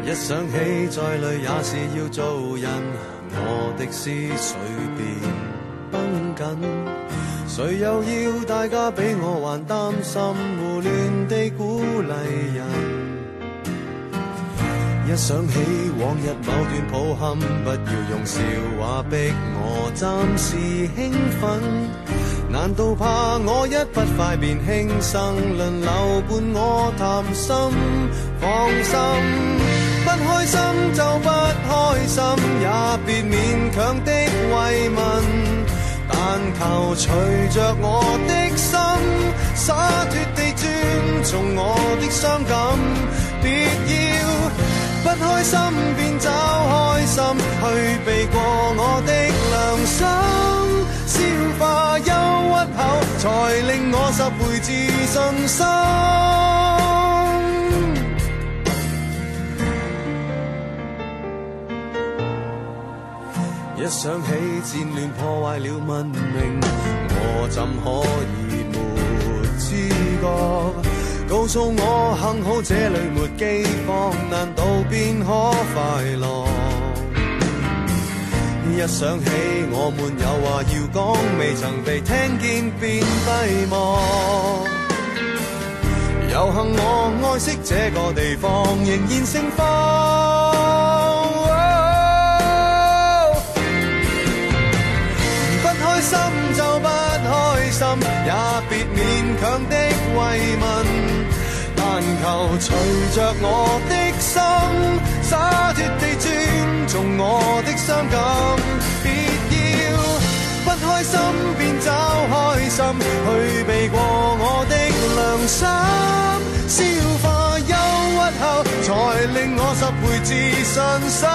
一想起再累也是要做人，我的思绪便绷紧。谁又要大家比我还担心，胡乱地鼓励人。一想起往日某段抱憾，不要用笑話逼我暫時興奮。難道怕我一不快便輕生，輪流伴我談心？放心，不開心就不開心，也別勉強的慰問。但求隨着我的心，灑脱地尊重我的傷感，別要不開心便找開心，去避過我的良心，消化憂鬱後，才令我拾回自信心。一想起戰亂破壞了文明，我怎可以沒知覺？告訴我幸好這裏沒饑荒，難道便可快樂？一想起我們有話要講，未曾被聽見便閉幕。有幸我愛惜這個地方，仍然盛放。不開心就不開心，也別勉強的慰問。但求隨着我的心，灑脱地尊重我的傷感，別要不開心便找開心，去避過我的良心，消化憂鬱後，才令我拾回自信心。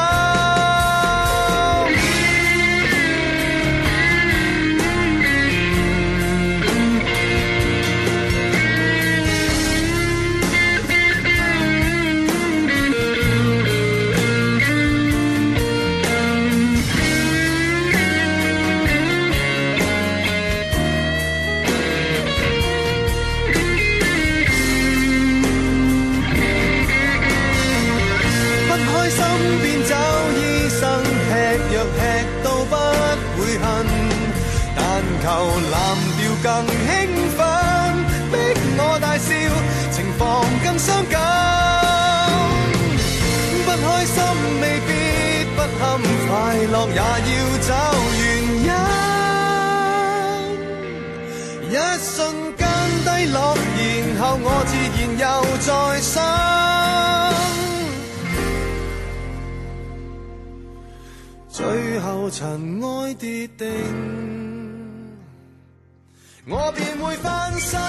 求藍調更興奮，逼我大笑，情況更傷感。不開心未必不堪，快樂也要找原因。一瞬間低落，然後我自然又再生。最後塵埃跌定，我便會翻身。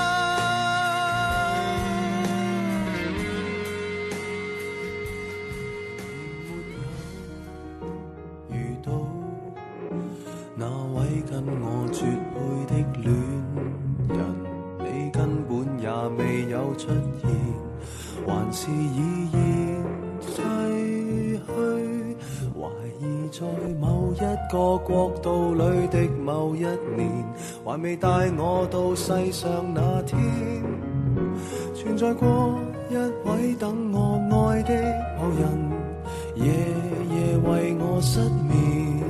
遇到那位跟我絕配的戀人，你根本也未有出現，還是已然逝去。懷疑在某一個國度裏的某一年，還未帶我到世上那天，存在過一位等我愛的某人，夜夜為我失眠。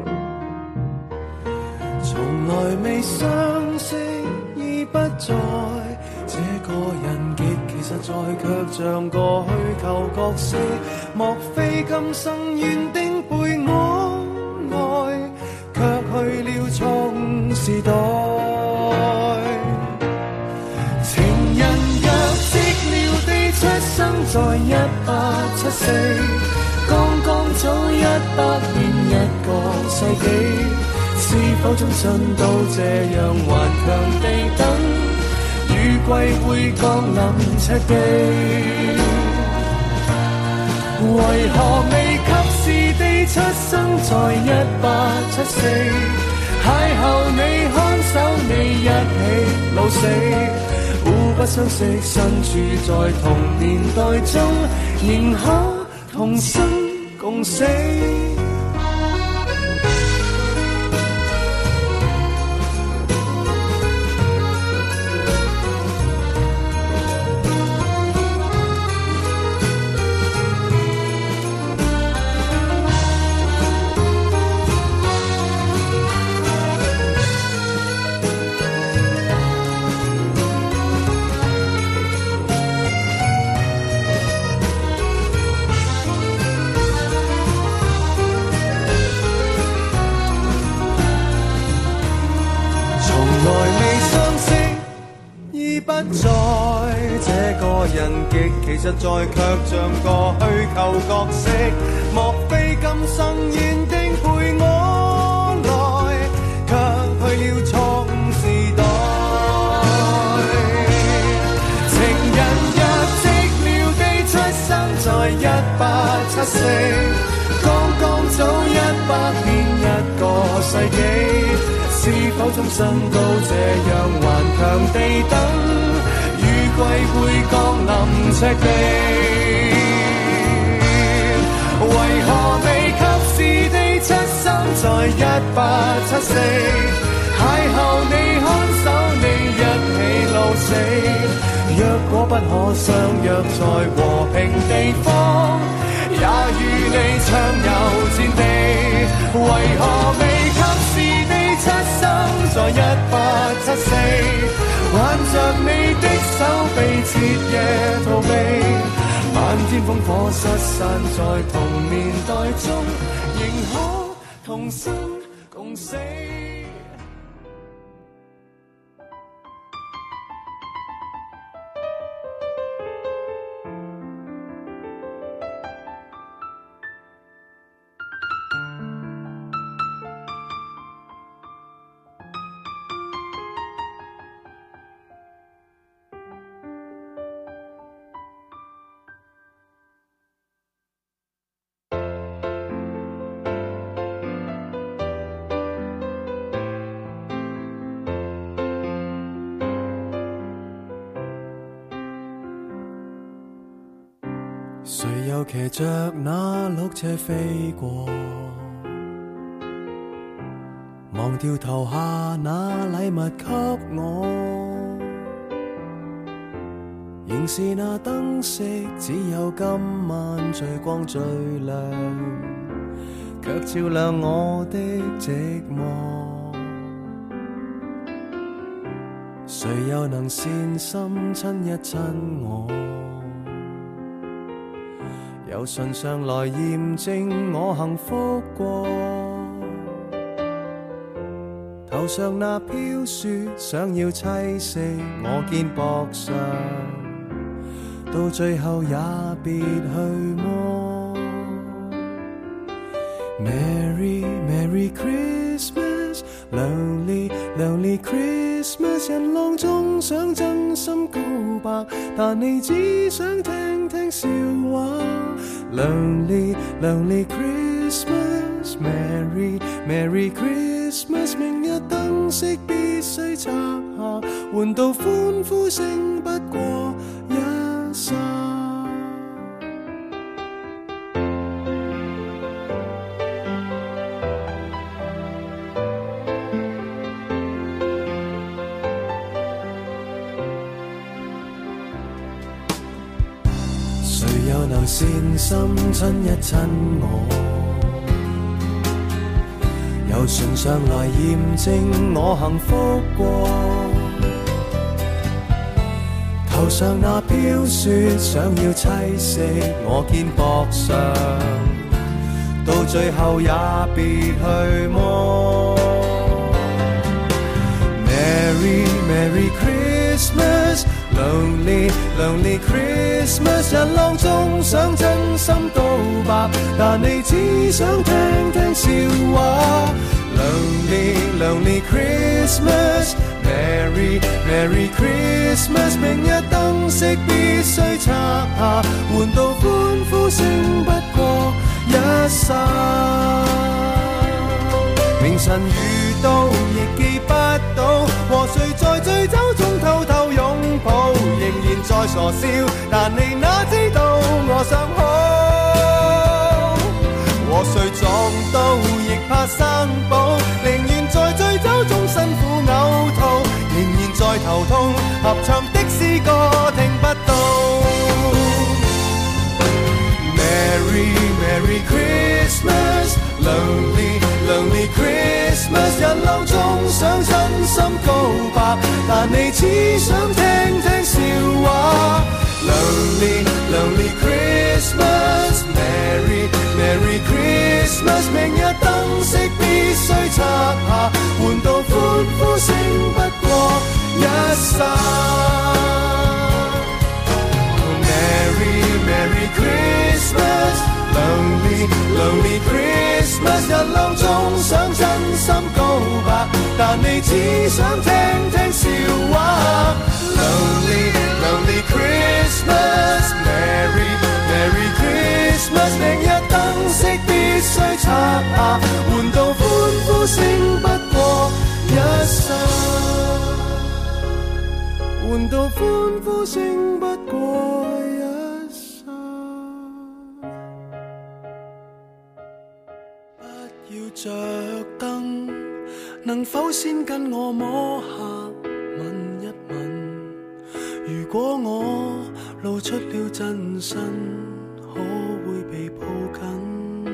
從來未相識已不在，這個人極其實在，卻像個虛構角色。莫非今生緣定陪我愛，卻去了錯時代。情人若寂寥地出生在1874，剛剛早100年一個世紀，是否終身都這樣頑強地等，雨季會降臨赤地？為何未及時地出生在1874，邂逅你看守你一起老死，互不相識身處在同年代中，仍可同生共死。 其實在卻像個虛構角色。莫非今生原定陪我來，卻去了錯誤時代。情人若寂寥地出生在1874。剛剛走100年1個世紀，是否終身都這樣頑強地等，雨季會降臨赤地？為何未及時地出生在1874？邂逅你看守你一起老死，若果不可相約在和平地方，也與你暢遊戰地。為何未及時地出生在1874？挽着你的手臂徹夜逃避，漫天烽火失散在同年代中，仍可同生共死。誰又騎着那綠車飛過，忘掉投下那禮物給我，仍是那燈飾，只有今晚最光最亮，卻照亮我的寂寞。誰又能善心親一親我，由唇上來驗證我幸福過，頭上那飄雪想要棲息我肩膊上，到最後也別去麼。 Merry Merry Christmas Lonely Lonely Christmas 人浪中想真心告白，但你只想聽聽笑話。 Lonely Lonely Christmas Merry Merry Christmas 明日燈飾必須拆下，換到歡呼聲不過一剎。又能善心親一親我，由唇上來驗證我幸福過，頭上那飄雪想要棲息我肩膊上，到最後也別去麼。 Merry Merry Christmas Lonely Lonely Christmas 人浪中想真心告白，但你只想聽聽笑話。 Lonely Lonely Christmas Merry Merry Christmas 明日燈飾必須拆下，換到歡呼聲不過一剎。明晨遇到亦記不到，和誰在醉酒中偷偷擁抱，仍然在傻笑，但你哪知道我想好。和誰撞到亦怕生保，寧願在醉酒中辛苦嘔吐，仍然在頭痛，合唱的詩歌聽不到。 Merry Merry Christmas Lonely Lonely Christmas 人浪中想真心告白，但你只想聽聽笑話。 Lonely Lonely Christmas Merry Merry Christmas 明日燈飾必須拆下，換到歡呼聲不過一剎。 Merry 只想聽聽笑話。Lonely Christmas Merry Merry Christmas， 明日燈飾必須擦下，換到歡呼聲不過一剎，換到歡呼聲不過一剎。不要着燈，能否先跟我摸下吻一吻？如果我露出了真身，可會被抱緊？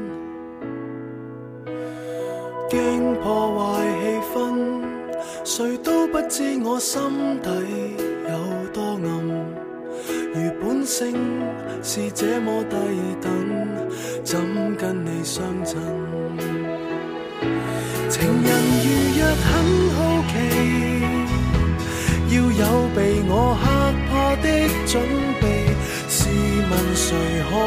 驚破壞氣氛，誰都不知我心底有多暗。如本性是這麼低等，怎跟你相襯？情人如若很好奇，要有被我嚇怕的準備，試問誰可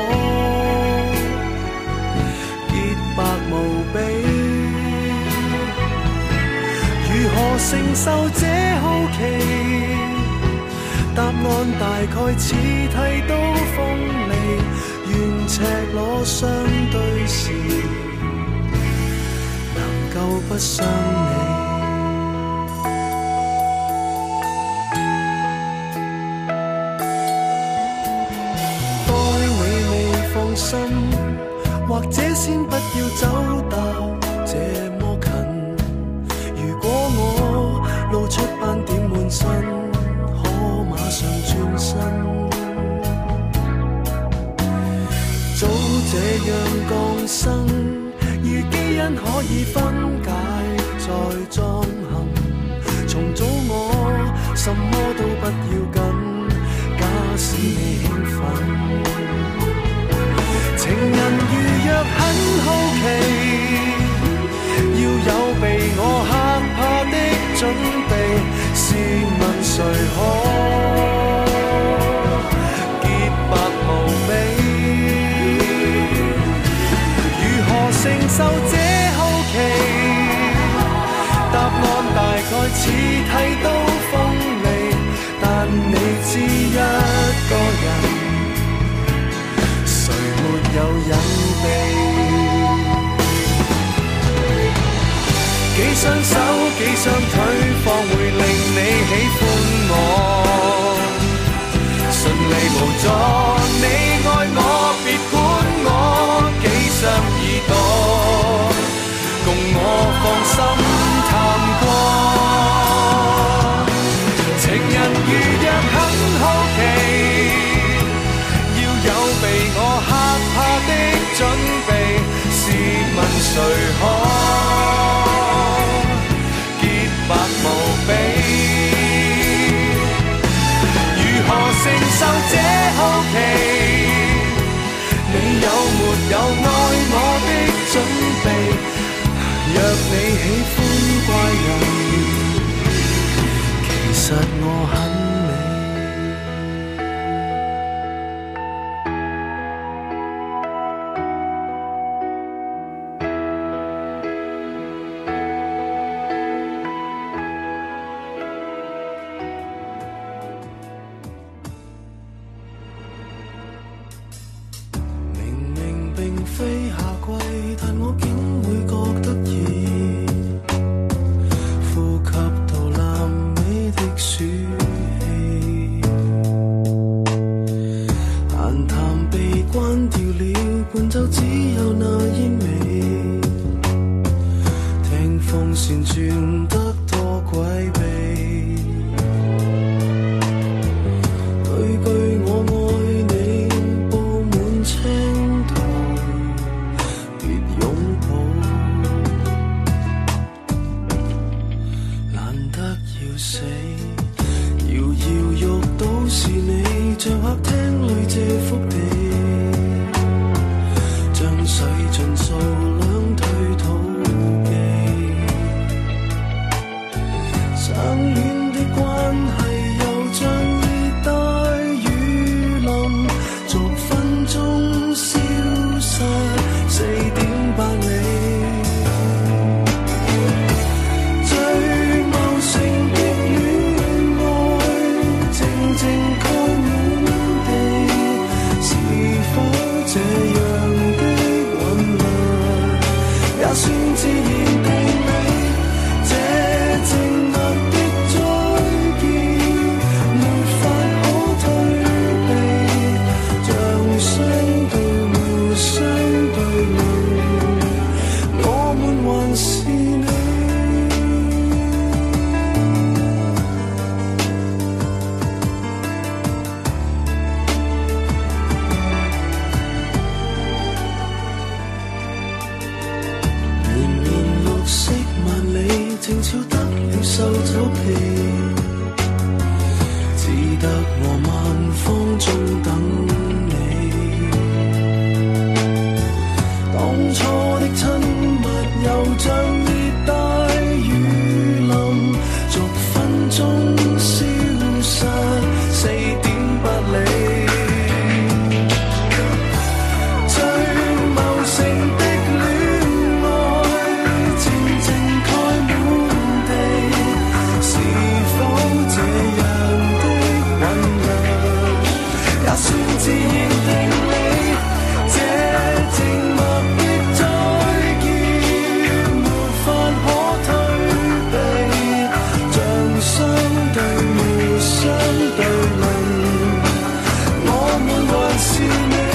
潔白無比？如何承受這好奇？答案大概似剃刀鋒利，願赤裸相對時，能夠不傷你。心或者先不要走到這麼近，如果我露出斑點滿身，可馬上轉身。早這樣降生，如基因可以分解再裝嵌，重組我什麼都不要緊，假使你興奮。情人如若很好奇，要有被我嚇怕的準備，試問誰可潔白無比？如何承受這好奇？答案大概似剃刀鋒利，但你知一個人有隱秘，幾雙手幾雙腿方會令你喜歡我，順利無阻你愛我，別管我幾雙耳朵，共我放心探過。情人如若很好奇，要有被我的準備，試問誰可潔白無比？如何承受這好奇？你有沒有愛我的準備？若你喜歡怪人，其實我很4點8里，最这样的韵律，也算自然地美。这静默的再見，沒法可退避，像相對沒相對論，我們還是你。靜悄得了獸走皮，只得我萬方中等你。當初的親密又像熱帶雨淋，逐分鐘消失，4點不理。自然定理，這靜默的再見，沒法可退避，像相對沒相對論，我們還是你。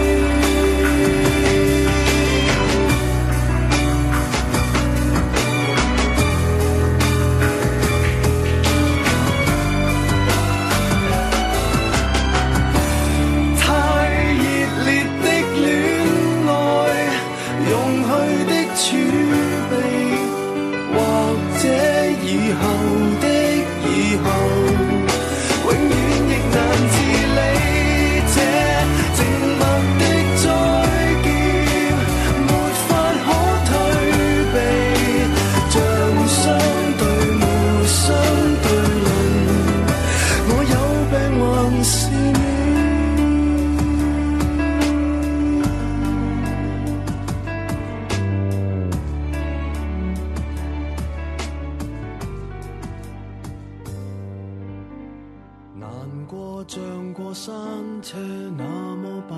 像過山車那麼辦，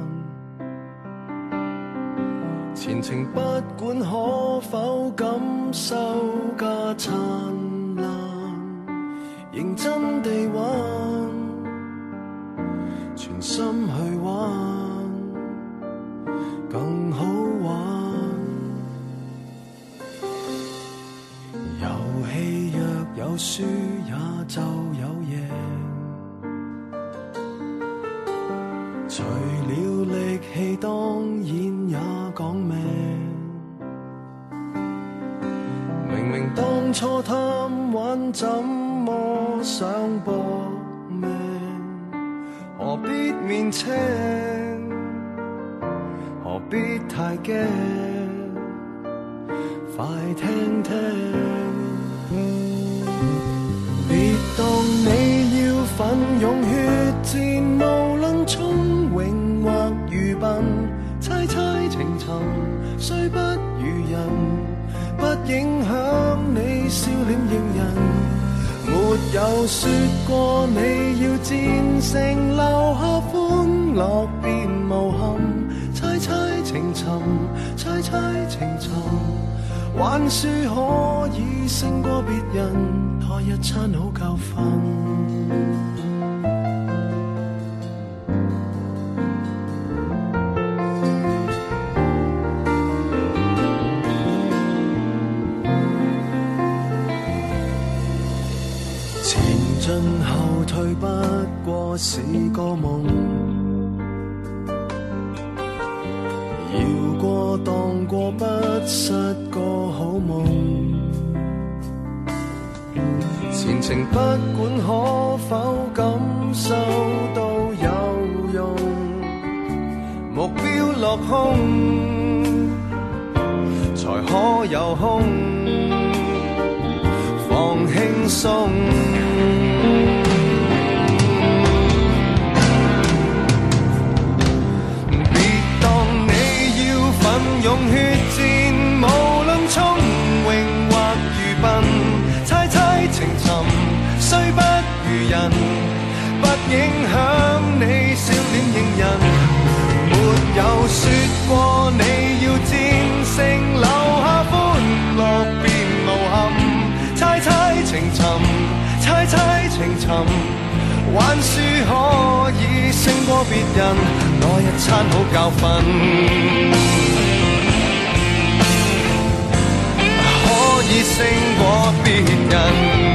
前程不管可否感受加燦爛，認真地玩，全心去玩，更好玩。遊戲若有輸也就有贏，除了力氣當然也講命，明明當初貪玩怎麼想搏命，何必面青，何必太驚，快聽聽，別當你要奮勇血戰，無論聰穎或愚笨，猜猜情尋雖不如人，不影響你笑臉迎人。沒有說過你要戰勝，留下歡樂便無憾，猜猜情尋，猜猜情尋，還說可以勝過別人，拖一餐好教訓。前進後退不過是個夢，搖過蕩過不失個好夢，前程不管可否感受都有用，目標落空才可有空，放輕鬆。用血戰，無論聰穎或愚笨，猜猜情尋雖不如人，不影響你笑臉迎人。沒有說過你要戰勝，留下歡樂便無憾。猜猜情尋，猜猜情尋，還輸可以勝過別人，那一餐好教訓，可以勝過別人。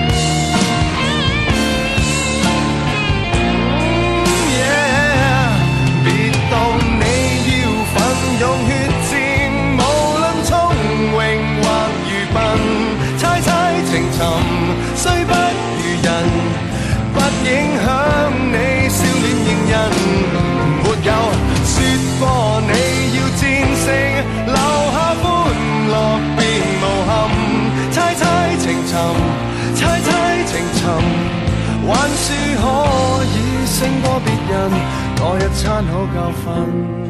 用血戰，無論聰穎或愚笨，猜猜情尋，雖不如人，不影響你笑臉迎人。沒有說過你要戰勝，留下歡樂便無憾。猜猜情尋，猜猜情尋，還輸可以勝過別人，那一餐好教訓。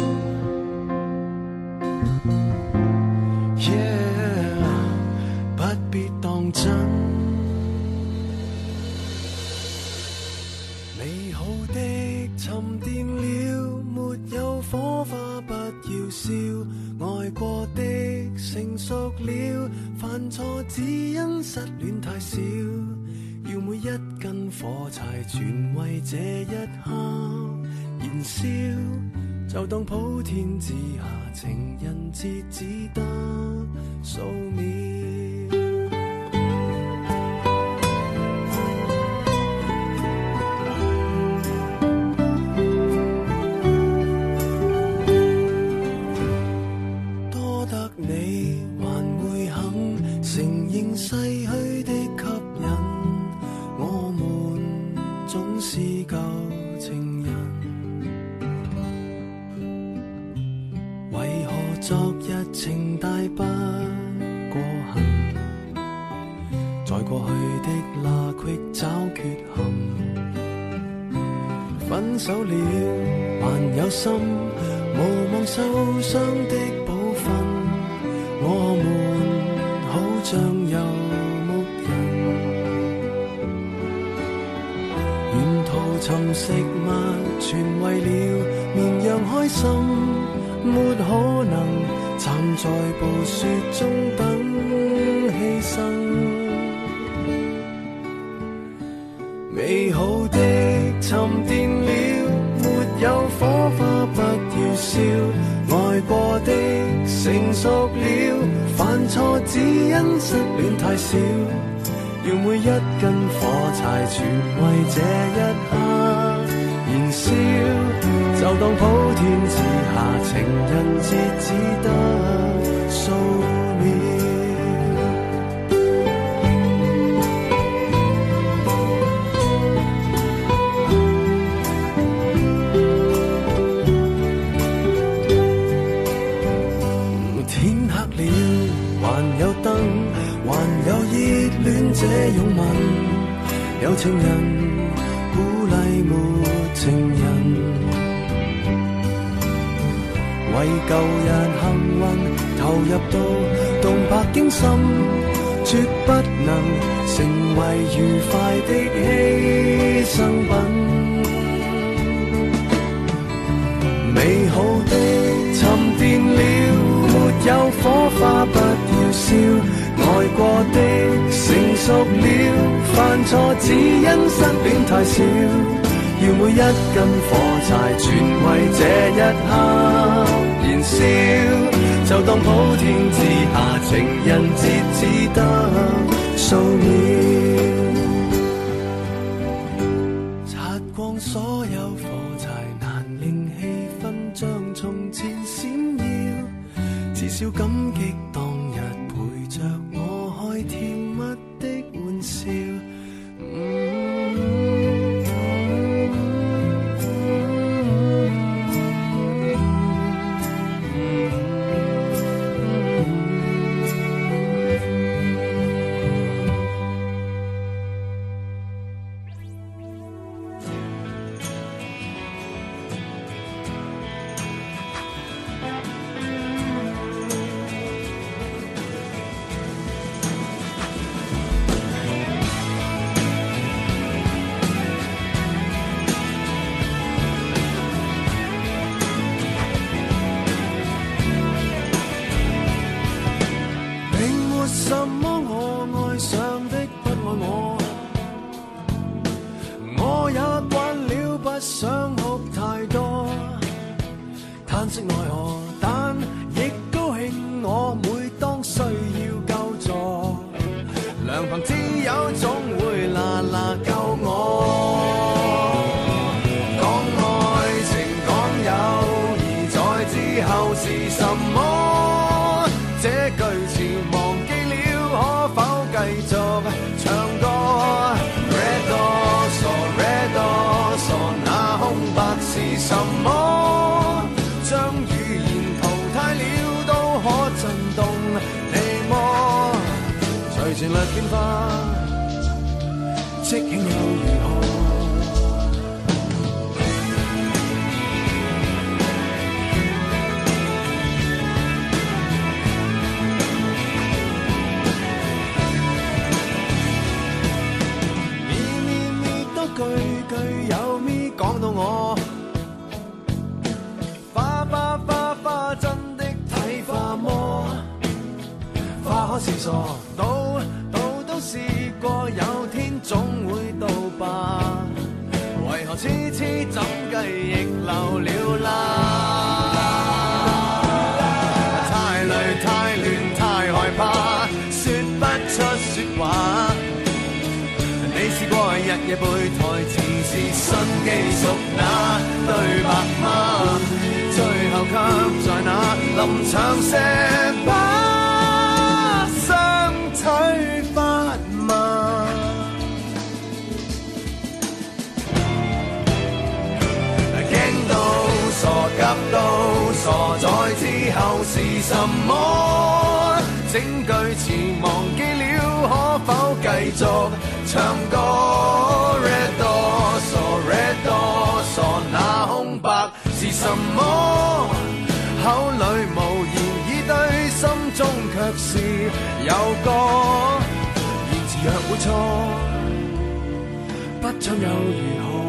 美好的沉澱了，沒有火花不要燒，愛過的成熟了，犯錯只因失戀太少，要每一根火柴全為這一刻燃燒，就當普天之下情人節只得數秒。逝去的吸引，我們總是舊情人。為何昨日情大不過痕？在過去的罅隙找缺陷。分手了還有心，無望受傷的寶訓。我們好像遊牧人，沿途尋食物，全為了綿羊開心，沒可能站在暴雪中等犧牲。美好的沉澱了，沒有火花不要燒，愛過的成熟了，犯錯只因失戀太少，要每一根火柴全為這一刻燃燒，就當普天之下情人節只得數秒。還有燈，還有熱戀這擁吻，有情人鼓勵沒情人，為舊日幸運投入到動魄驚心，絕不能成為愉快的犧牲品。美好的沉澱了，沒有火花不要燒，愛過的成熟了，犯錯只因失戀太少，要每一根火柴全為這一刻燃燒，就當普天之下情人節只得數秒，擦光所有火柴，難令氣氛像從前閃耀，至少感激當日陪着我開甜蜜的玩笑。 嘆息奈何，但亦高興我每當需要救助，良朋知友總會啦啦救我。講愛情講友誼在之後是什麼？這句詞忘記了，可否繼續唱歌？Red 那空白是什麼？將語言淘汰了都可震動你麼？隨情略變化，即興又如何？句句有咪講到我，花真的睇花麼？花可是傻，都試過，有天總會到吧？為何痴怎計亦流了啦？太累太亂太害怕，說不出說話。你試過日夜背台詞是新記熟那對白嗎？最後卻在那臨場石把雙腿發麻。驚到傻急到傻，在之後是什麼？整句詞忘記了，可否繼續唱歌？Red 多傻，那空白是什麼？口裏無言以對，心中卻是有歌。言辭若會錯，不唱又如何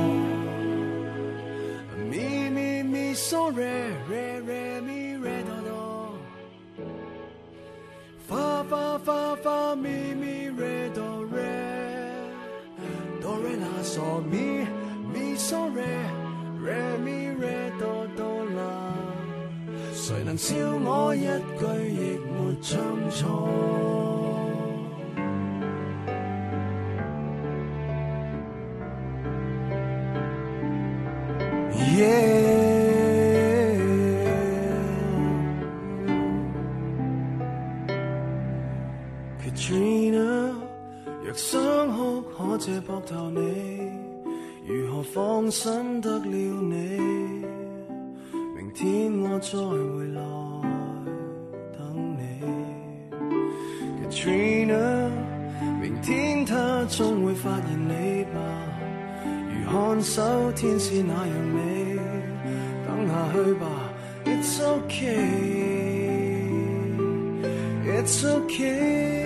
？Mi so re mi re do fa mi re do re la so mi so re mi re do la， 誰能笑我一句亦沒唱錯？Yeah。若想哭可借膊頭你，如何放心得了你？明天我再回來等你。Katrina， 明天他終會發現你吧，如看守天使那樣美。等下去吧 ，It's okay，It's okay。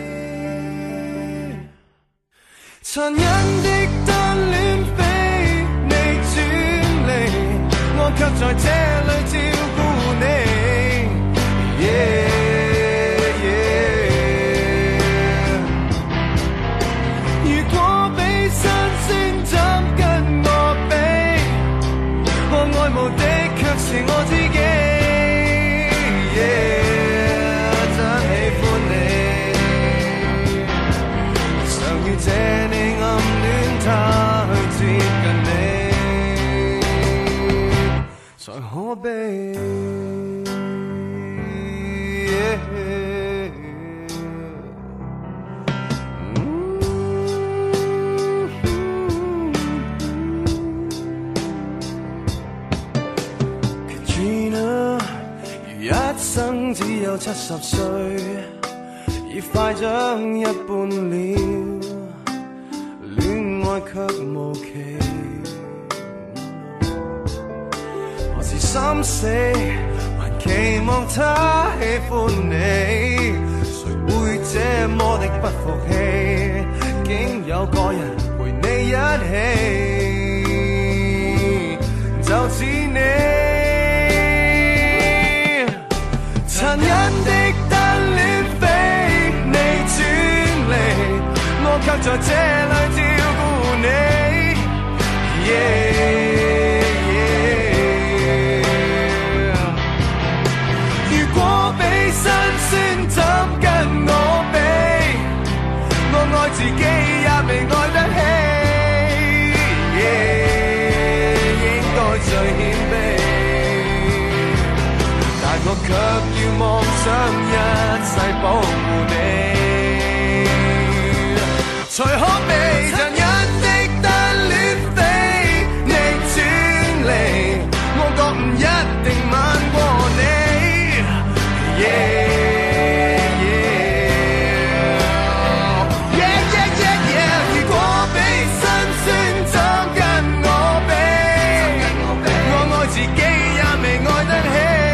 殘忍的單戀非你專利，我卻在這裡照顧你。如果比新鮮怎跟我比？我愛慕的卻是我自己。真喜歡你，常遇這你暗戀他去接近你，才可悲。Katrina， 如一生只有70歲，已快將一半了。愛卻無期，何時心死，還期望他喜歡你，誰會這麼的不服氣？竟有個人陪你一起，就似你。殘忍的單戀非你專利，我卻在這裡照顧你。 我卻要妄想一世保護你，才可被人一的單戀飛逆轉離，我覺唔一定慢過你。如果比辛酸怎跟我比，我愛自己也未愛得起。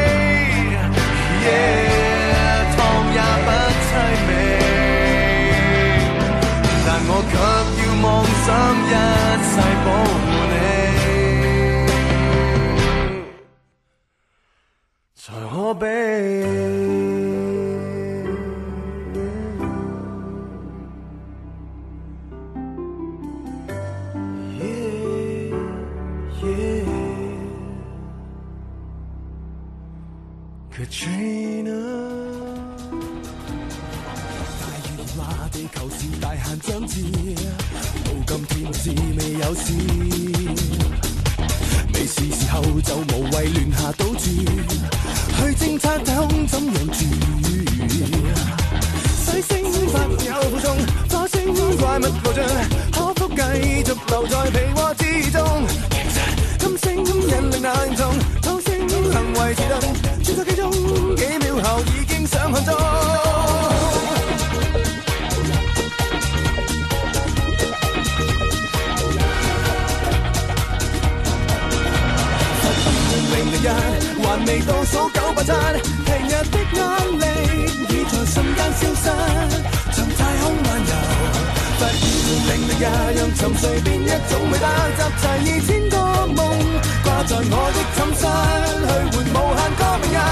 湯也不悽美，但我卻要妄想一世保護你，才可比。Katrina， 大雨話地球是大限將至，到今天至未有事，未是時候就無謂亂下賭注，去偵測太空怎樣住，水星發有負重，火星怪物無盡，可否繼續留在被窩之中？金星引力難同，土星能維持頓，轉咗幾鐘幾秒後已經上看中。2001還未倒數987，平日的壓力已在瞬間消失，從太空漫遊。忽然001讓沉睡變一種美德，集齊2000個夢掛在我的寢室，去換無限個明日。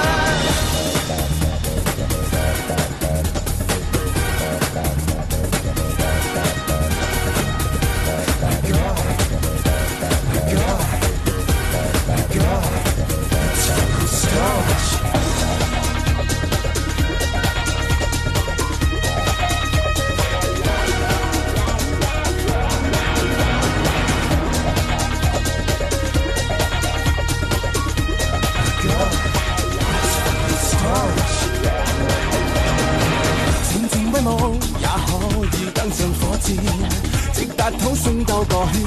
直達土星兜個圈，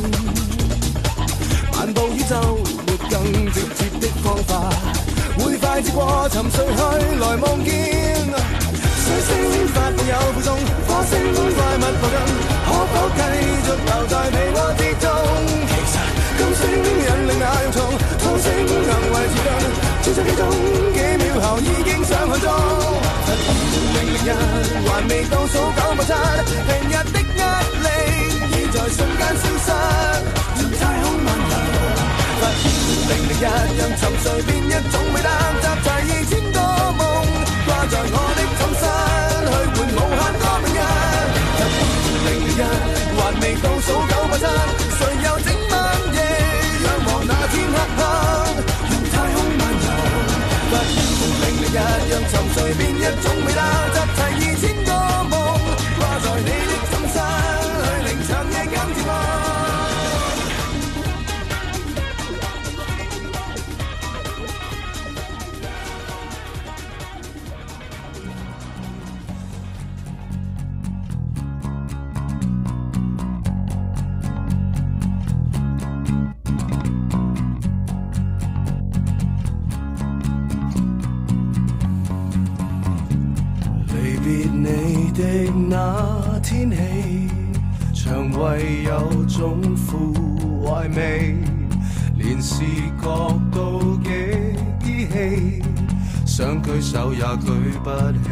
漫步宇宙沒更直接的方法，會快接過沉睡去來望見。水星發夢有負重，火星怪物無盡，可否繼續留在被窩之中？其實金星引力那樣重，土星能維持頓，轉咗幾鐘幾秒後已經上看中。001還未倒數987，平日的壓力已在瞬間消失，從太空漫遊。忽然001讓沉睡變一種美德，集齊2000個夢掛在我的寢室，去換無限個明日。忽然001還未倒數987，誰又整晚夜仰望那天黑黑，用太空漫遊。忽然001讓沉睡變一種美德，集齊2000個夢掛在你的寢室，去令長夜減折磨。那天起，腸胃有種腐壞味，連視覺都幾依稀，想舉手也舉不起。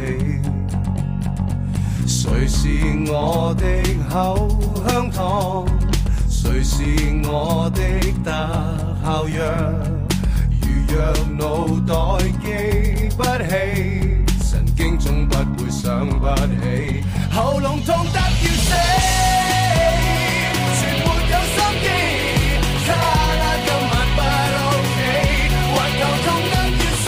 誰是我的口香糖？誰是我的特效藥？如若腦袋記不起，神經總不會想不起，喉嚨痛得要死，全沒有心機，卡拉今晚不 OK， 環球痛得要死，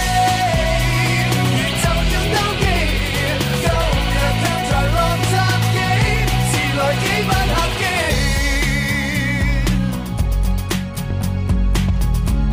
宇宙要兜機，今日卻在洛杉磯，遲來幾班客機。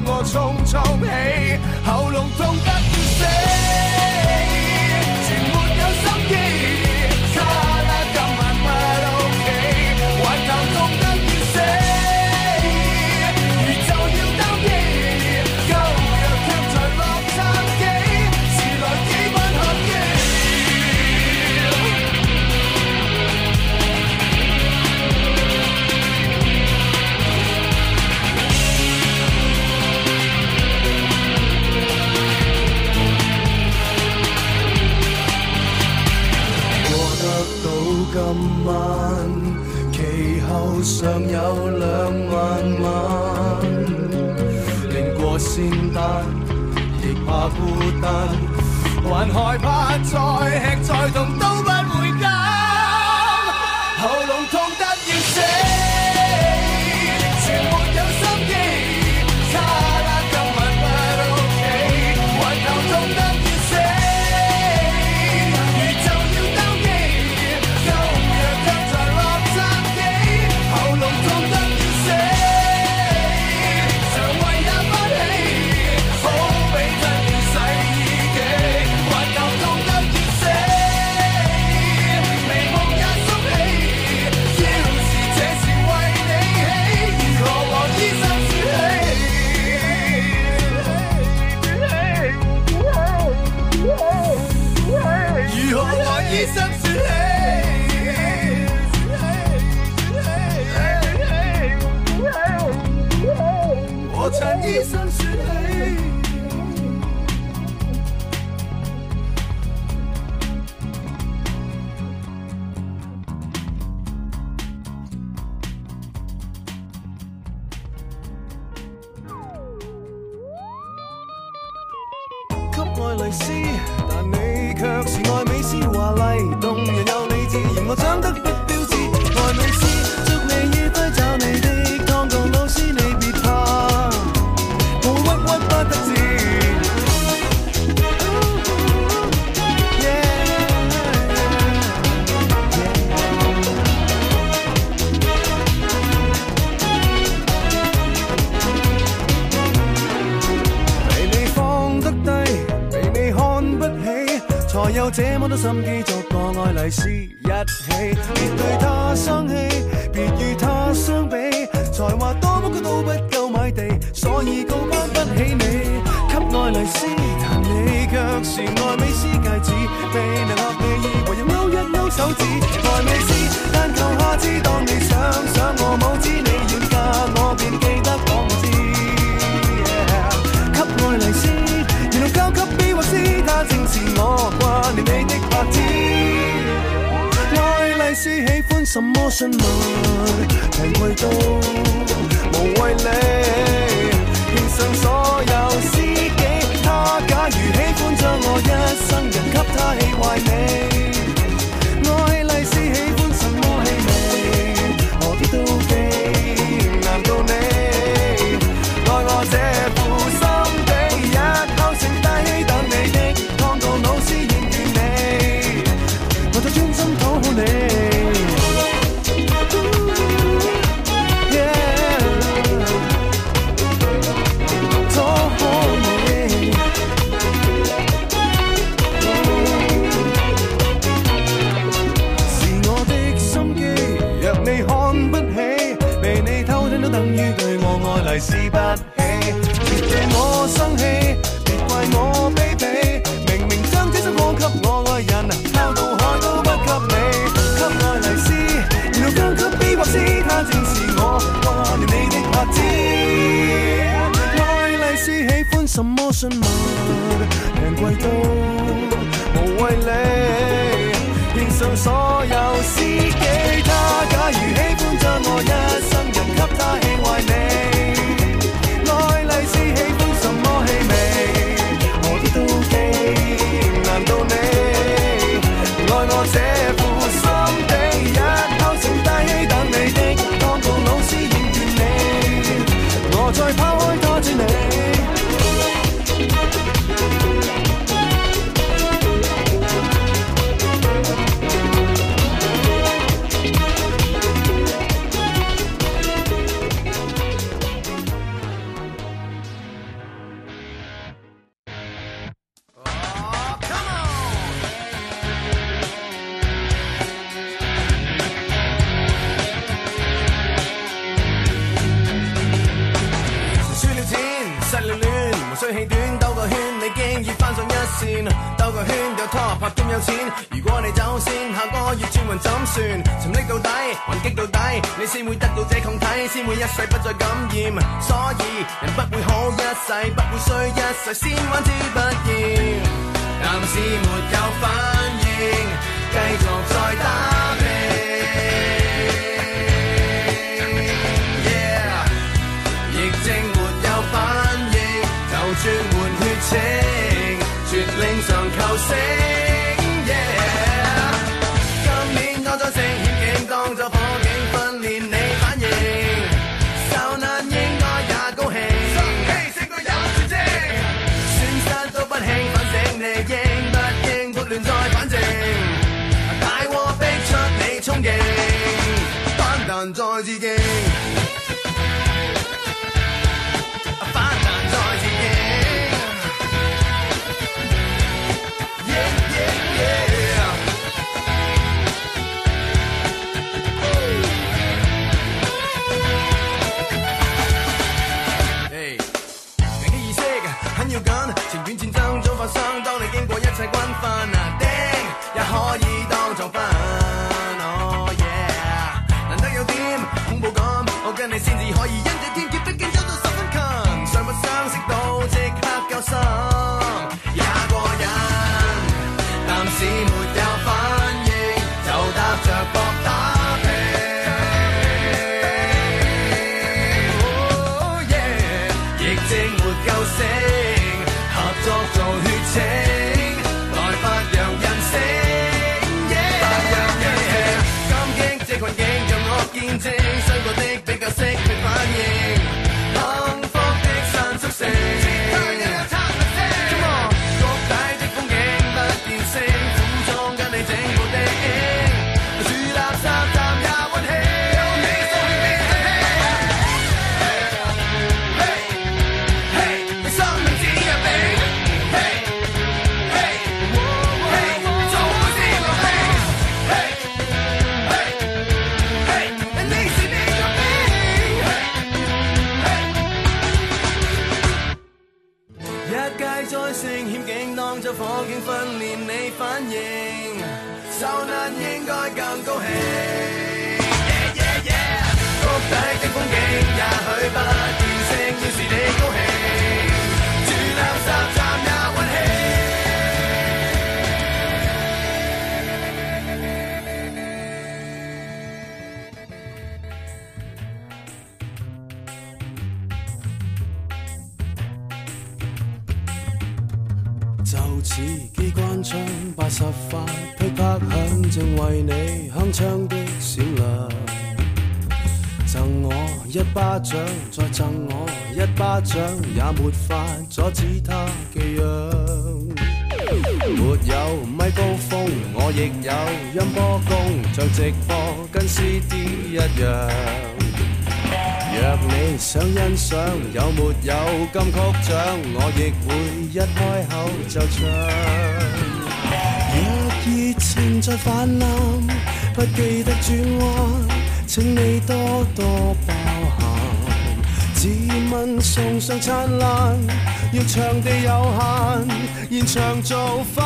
我匆匆起，喉嚨痛得要死，全沒有心機，差啦今晚不OK，還頭痛得要死，如就要擔機，夠藥卻在洛杉磯，遲來幾番合機。今晚其後尚有2萬晚，連過仙丹亦怕孤單，還害怕再吃再痛都不會減，喉嚨痛得要死，全沒有心機，差啦今晚不 OK， 還頭痛得要死，如就要擔機。喉嚨痛得要死，腸胃也不起，好比真要洗衣機，還頭痛得要死，眉毛也縮起，要是這是為你起，如何和醫生說起？如何和醫生說起？我趁醫生說起，給愛麗絲，但你卻是愛美絲，華麗動人有理智，嫌我長得不標緻，愛美絲，祝你愉快找你的湯鋼老師，你別怕。不得志，被你放得低，被你看不起，才有這麼多心機作個愛麗絲一起，別對他生氣，別與他相比，才華多麼高都不夠買地，所以高攀不起你。給愛麗絲，但你卻是愛美絲戒指，未能合你意，唯有勾一勾手指。愛美絲，但求下次當你想我冇知你遠嫁，我便記得講我知。給愛麗絲，然後交給 B 或 C， 他正是我掛念你的拍子。愛麗絲喜歡什麼詢問，平貴到無謂理，獻上所有司機。他假如喜歡將我一生人給他氣壞你，愛麗絲喜歡什麼氣味？何必妒忌？難道你愛我這負心地，日後成大器等你的湯鋼老師厭倦你，我再專心討好你。等於對我愛麗絲不起，別對我生氣，別怪我卑鄙，明明將這首歌給我愛人，拋到海都不給你。給愛麗絲，然後交給 B 或 C， 他正是我掛念你的拍子。愛麗絲喜歡什麼詢問，平貴到無謂理，獻上所有司機。他假如喜歡將我一生人給他氣壞你，愛麗絲喜歡什麼氣味？何必妒忌？難道你愛我這負心地，日後成大器等你的湯鋼老師厭倦你，我再拋開他追你。 線，兜個圈有拖拍兼有錢。如果你走先，下個月轉運怎算？沉溺到底，還擊到底，你先會得到這抗體，先會一世不再感染。所以人不會好一世，不會衰一世，先玩之不厭。但是沒有反應，繼續再打拼。疫症沒有反應，就轉換血清，絕領上球星。今年多咗聖險境，當咗火警訓練你反應，受難應該也高興，勝過有絕症，損失都不興，反正你應不應撥亂再反正，大禍逼出你衝勁，反彈再致敬。情願戰爭早發生，當你經過一切軍訓啊，釘也可以當作分。Oh yeah， 難得有點恐怖感，我跟你先至可以因這天劫，畢竟走到十分近，尚不相識到即刻交心，也過癮。但是沒有反應，就搭着膊打拼。Oh yeah， 疫症沒救星。做血清，來發揚人性，發揚感激這困境，讓我見證傷過的比較識去反應，幸福的新宿舍。Come on， 谷底的風景不見星，苦中跟你整部的影，住垃圾站也溫馨。在聖險境當作火警訓練你反應，受難應該更高興。谷底的風景也許不見星，要是你高興，住垃圾站也溫馨。就似機關槍80發噼啪響，正為你鏗鏘的閃亮。贈我一巴掌，再贈我一巴掌，也沒法阻止他寄養。沒有咪高峰，我亦有音波功，像直播跟 CD 一樣。若你想欣賞有沒有金曲獎，我亦會一開口就唱。若熱情在泛濫，不記得轉彎，請你多多包涵。自問送上燦爛，要場地有限，現場做翻。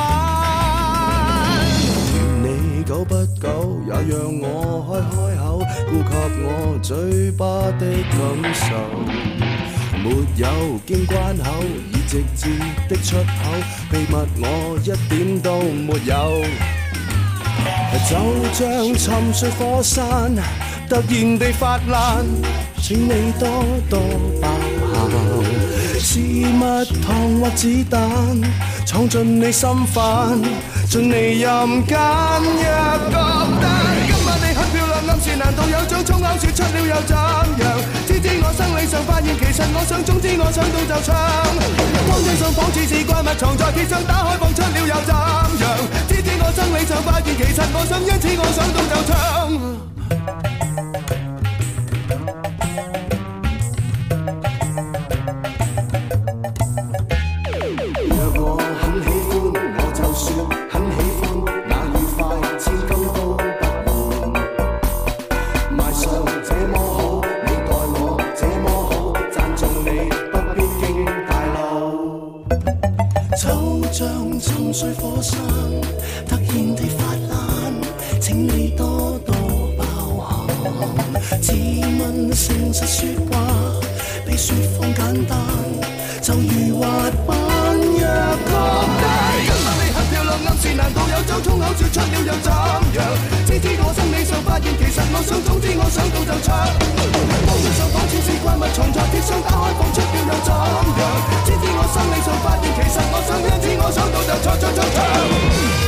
你久不久也讓我開口，顧及我嘴巴的感受。沒有經關口，已直接的出口，秘密我一點都沒有。就像沉睡火山，突然地發爛，請你多多包涵。是蜜糖或子彈，闖進你心瓣，盡你任揀。若覺得今晚你很漂亮，暗示難道有種粗口說出了又怎樣？知我生理上發現，其實我想，總之我想到就唱。當真相仿似是怪物藏在鐵上，打開放出了又怎樣？知我生理上發現，其實我想，因此我想到就唱。 像沉睡火山，突然地發爛，請你多多包涵。自問誠實說話，比說謊簡單，就如滑板。若覺得今晚你很漂亮，暗示難道有種衝口說出了又怎樣？知我心理上發現，其實我想，總之我想到就唱。當我受訪，似是怪物藏在鐵箱，打開放出了又怎樣？知我心理上發現，其實我想，因此我想到就唱。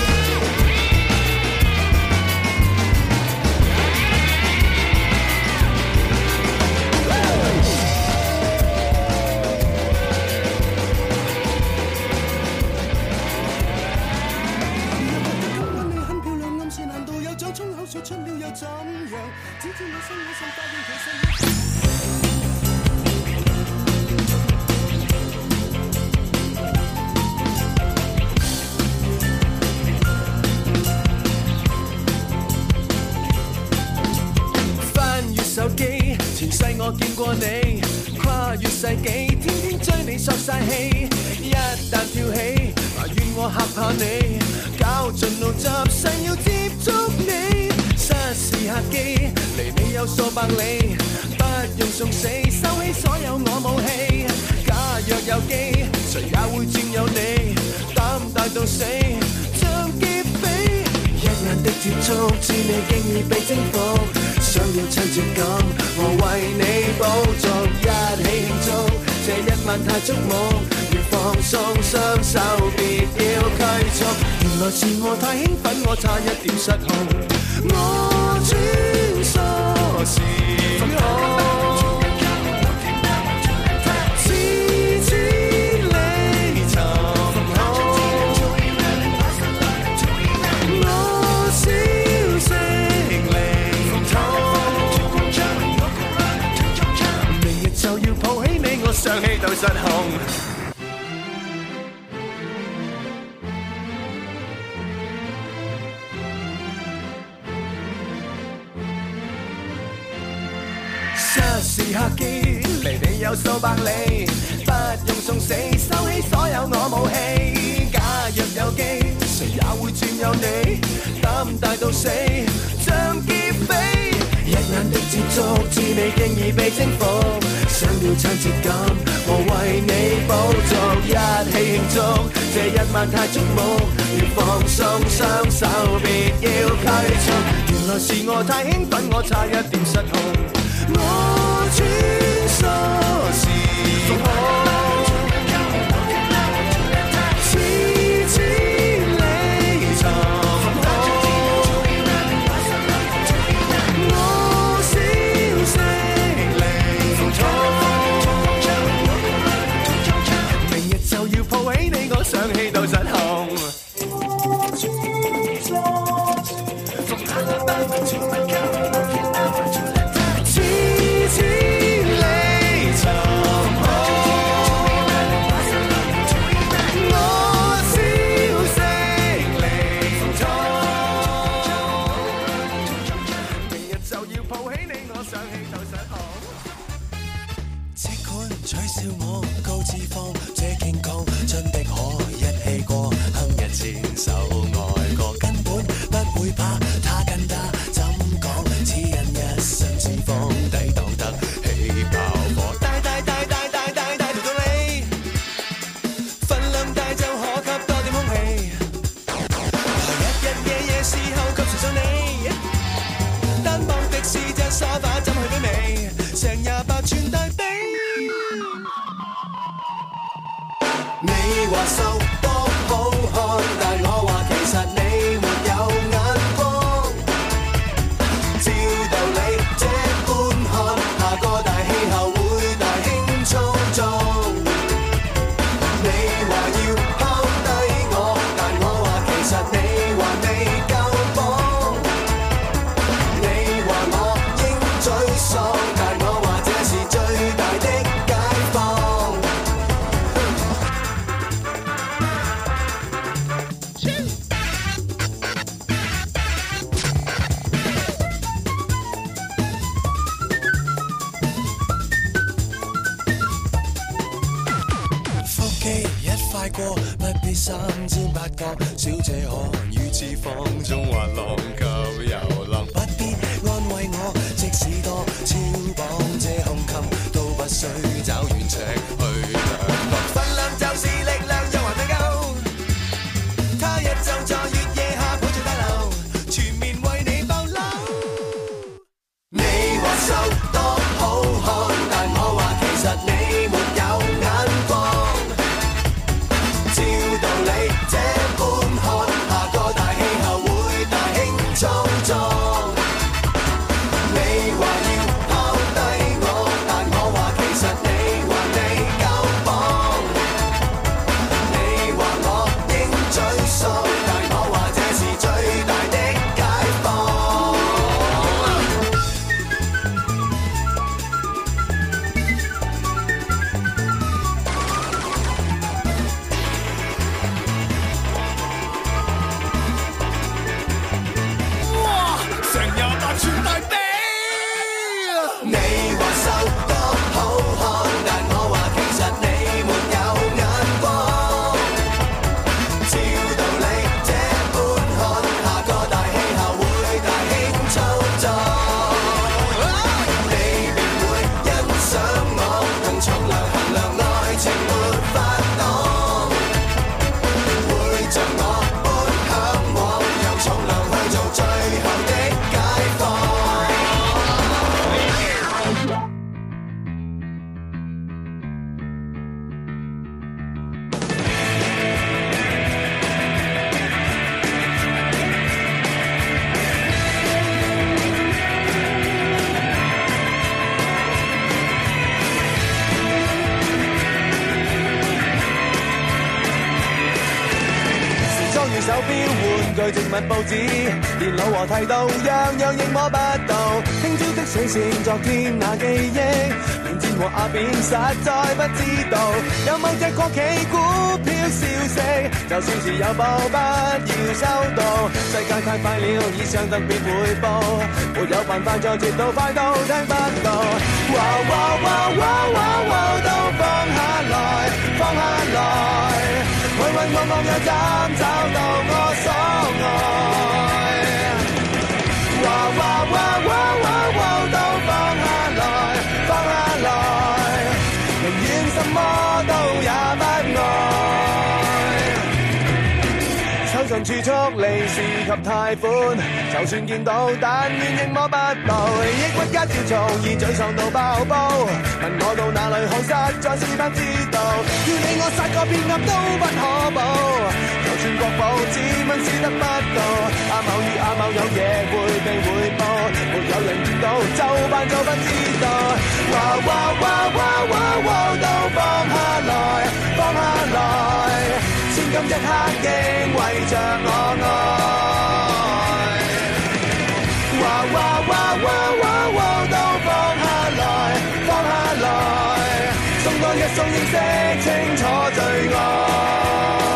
說出了又怎樣？只知我心裏想發現，其實翻閱手機，前世我見過你，跨越世紀，天天追你索晒氣，一旦跳起，怨我嚇怕你，搞盡腦汁，想要接觸你。失時客機，離你有數百里，不用送死，收起所有我武器。假若有機，誰也會佔有你，膽大到死，像劫匪。一眼的接觸，知你經已被征服，想要親切感，我為你補足，一起慶祝，這一晚太觸目，越放鬆雙手，別要拘束。原來是我太興奮，我差一點失控。我穿梭時空，千里尋空，我消息靈通，明日就要抱起你，我上氣到失控。時刻機，離你有數百里，不用送死，收起所有我武器。假若有機，誰也會佔有你，膽大到死，像劫匪。一眼的接觸，知你經已被征服，想要親切感，我為你補足，一起慶祝，這一晚太觸目，要放鬆雙手，別要拘束。原來是我太興奮，我差一點失控。我穿梭時空，千里尋空，我消息靈通，明日就要抱起你，我想氣到失控。 三尖八角，小姐可於此放縱滑浪及遊浪，不必安慰我，即使多超磅，這胸襟都不需找圓尺去量度。分量就是力量，又還未夠，他日就在月夜下抱住大樓，全面為你爆樓。你話瘦多好看，但我話其實你沒有眼光。照道理這般看，下個大氣候會大興粗壯。你話要拋低我，但我話其實你還未夠磅。你話我應沮喪，但我話這是最大的解放。哇！成28寸大髀。你話瘦多好看，但我話其實你沒有眼光。照道理這般看，下個大氣候會大興粗壯。你便會欣賞我，用重量衡量愛情沒法擋。會像我般向往，用重量去做最後的解放。時裝與手錶、玩具、植物、報紙、電腦和剃刀，樣樣亦摸不到。聽朝的水線，昨天那記憶，連箭和鴉片實在不知道。有某隻國企股票消息，就算是有報不要收到。世界太快了，以上特別匯報，沒有辦法再接到，快到聽不到。哇哇哇哇哇哇，都放下來，放下來。去揾我望又怎找到我所愛？哇哇哇哇哇哇，都放下來，放下來，寧願什麼都也不愛。抽盡儲蓄、利是及貸款，就算見到，但願亦摸不到。抑鬱加焦躁，已沮喪到爆煲。問我到哪裏好，實在是不知道。要你我殺個遍鴨都不可保，就算國寶自問是得不到。阿某與阿某有嘢會被匯報，沒有人見到，就扮做不知道。哇哇哇哇哇哇，都放下來，放下來，先今一刻竟為着我愛。哇哇哇哇哇哇，都放下來，放下來，送多一送認識清楚最愛。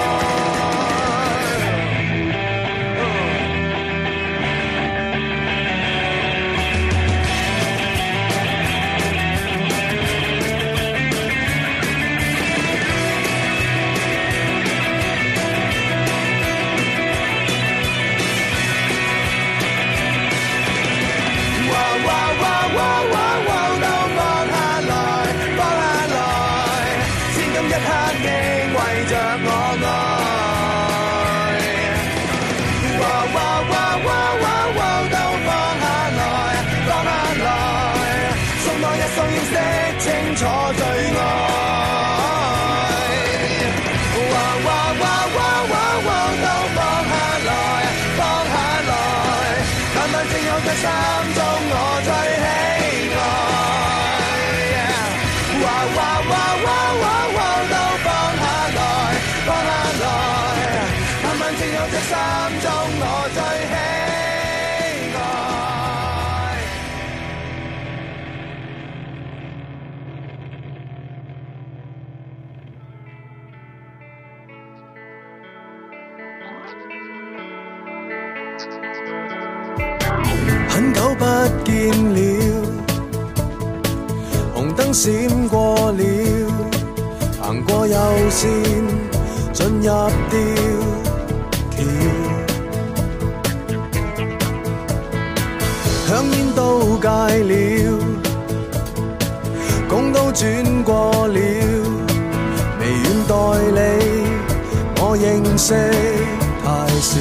清楚最愛，哇哇哇哇哇哇，都放下來，放下來，淡淡正有在心中我最喜愛。哇哇哇哇哇哇，都放下來，放下來，淡淡正有在心中我最喜愛。很久不見了，紅燈閃過了，行過右線， 進入吊橋，香煙都戒了，工都轉過了，微軟代理我認識太少，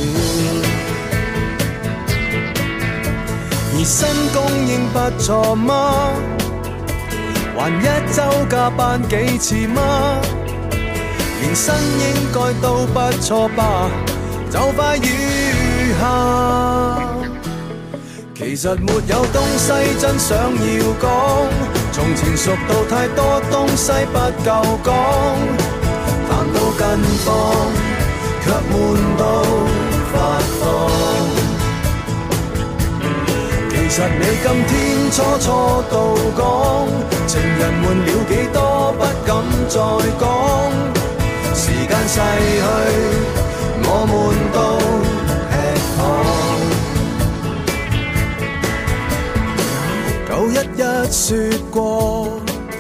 而新供應不錯嗎？還一週加班幾次嗎？連薪應該都不錯吧，就快餘下。其實沒有東西真想要講，從前熟到太多東西不夠講，談到近況卻悶到發慌。其實你今天初初到講，情人悶了幾多不敢再講，時間逝去我悶到吃糖。911說過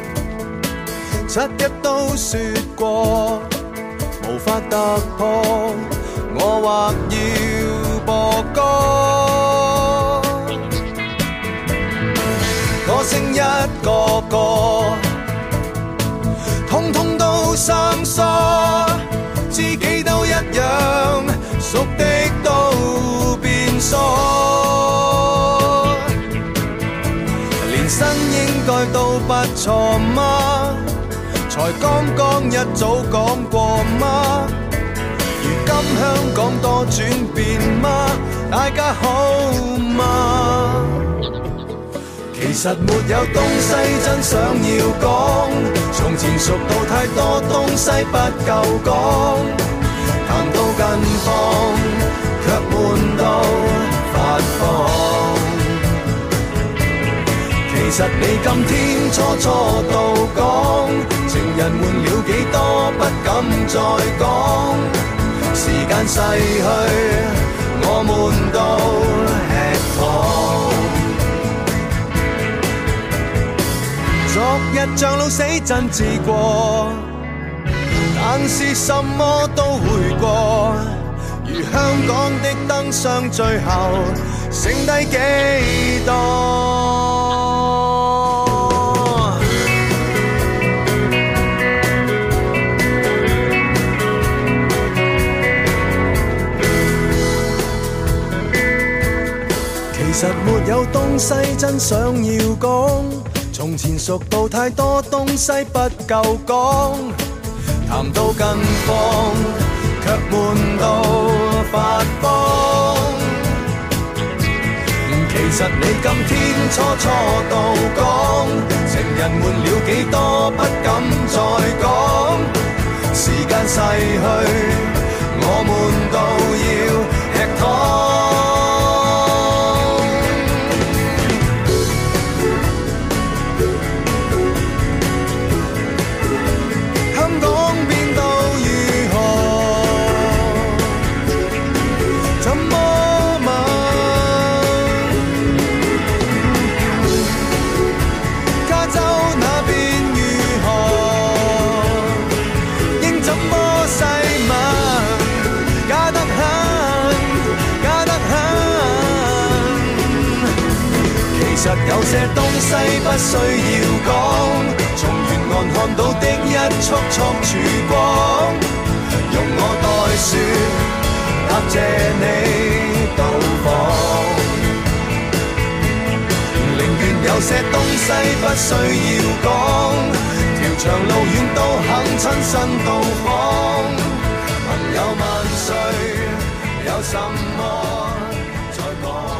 7日都說過，無法突破我或要播歌，歌聲一個個通通都生疏，知己都一樣，熟的都變疏，連薪應該都不錯嗎？才剛剛一早講過嗎？如今香港多轉變嗎？大家好嗎？其實沒有東西真想要講，從前熟到太多東西不夠講，談到近況卻悶到發慌。其實你今天初初到講，情人悶了幾多不敢再講，時間逝去我悶到吃糖。昨日像老死真治過，但是什麼都會過，如香港的燈箱最後剩低幾多？其實沒有東西真想要講，從前熟到太多東西不夠講，談到近況卻悶到發慌。其實你今天初初到講，情人悶了幾多不敢再講，時間逝去我悶到要吃糖。有些東西不需要講，從沿岸看到的一束束曙光，用我代説，答謝你到訪。寧願有些東西不需要講，條長路遠都肯親身到訪。朋友萬歲，有什麼再講？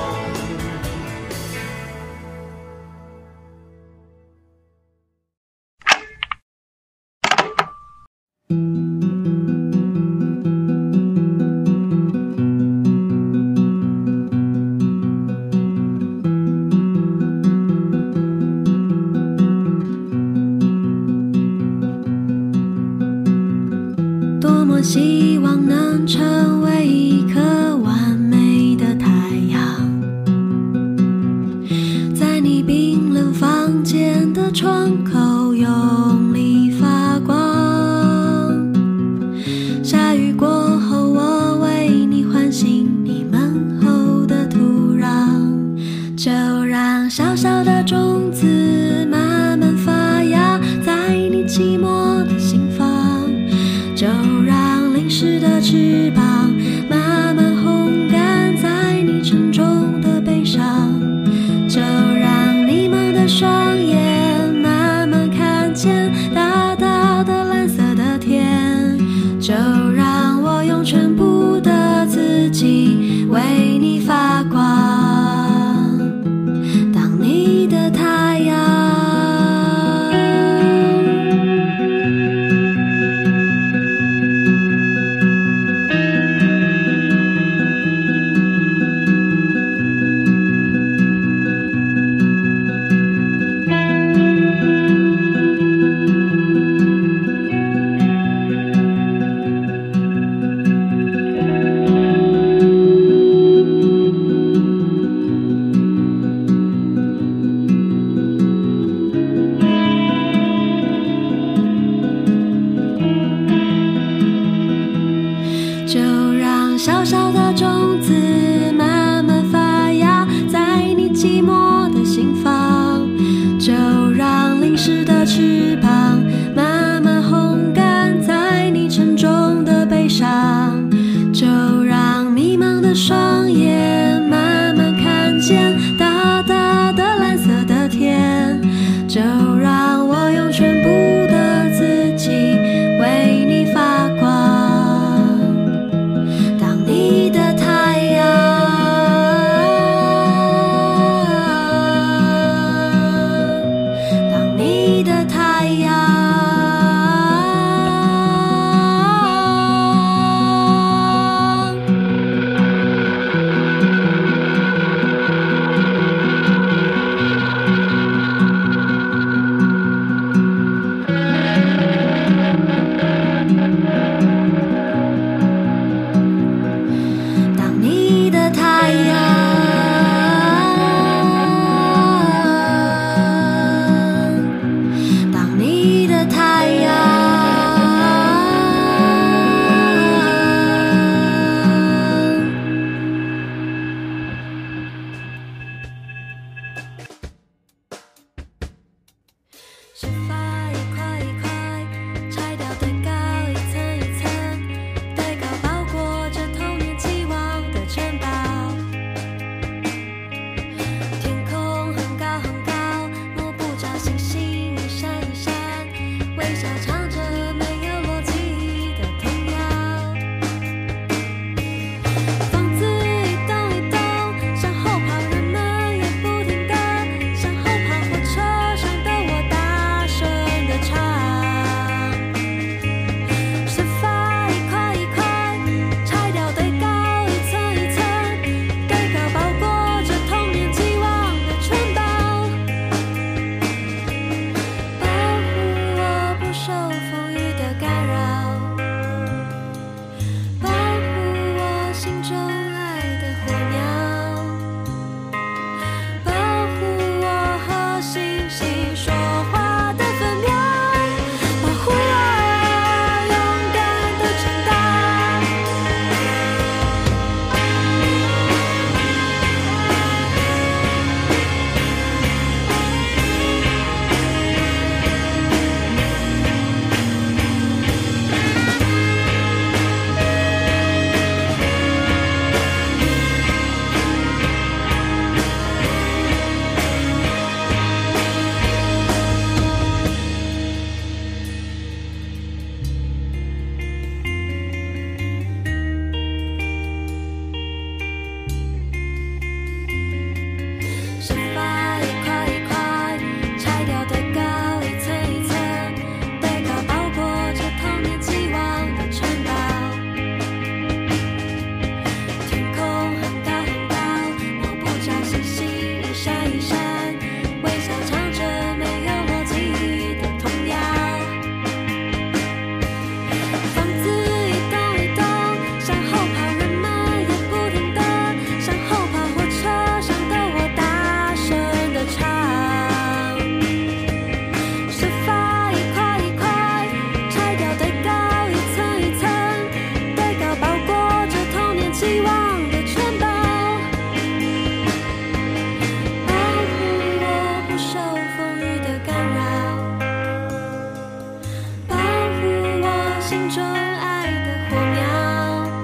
希望能成为一颗完美的太阳，在你冰冷房间的窗口用力发光。下翅膀，慢慢烘干在你沉重的背上，就让迷茫的双眼慢慢看见大大的蓝色的天，就让我用全部的自己为你发光，当你的太阳。就让小小的种子慢慢发芽在你寂寞的心房，就让淋湿的翅膀慢慢烘干在你沉重的背上，就让迷茫的双眼慢慢看见大大的蓝色的天，就让我用全部的自己为你发光，你的太阳，当你的太阳。是发一块一块拆掉堆高一层一层，堆高包裹着童年期望的城堡，天空很高很高，摸不着星星一闪一闪，微笑唱着没有逻辑的童谣，房子一栋一栋向后跑，人们也不停地向后跑，火车上的我大声地唱，是发一块一块拆掉堆高一层一层，堆高包裹着童年期望的城堡，保护我不受风雨的干扰，保护我心中爱的火苗，保护我和星星说话的分秒，保护我勇敢的长大。是发一块一块拆掉堆高一层一层，堆高包裹着童年期望的城堡，天空很高很高，摸不着星星一闪一闪，微笑唱着没有逻辑的童谣，房子一栋一栋向后跑，人们也不停地向后跑，火车上的我大声地唱，是发一块一块拆掉堆高一层一层，堆高包裹着童年期望的城堡，保护我不受风雨的干扰，保护我心中爱的火苗，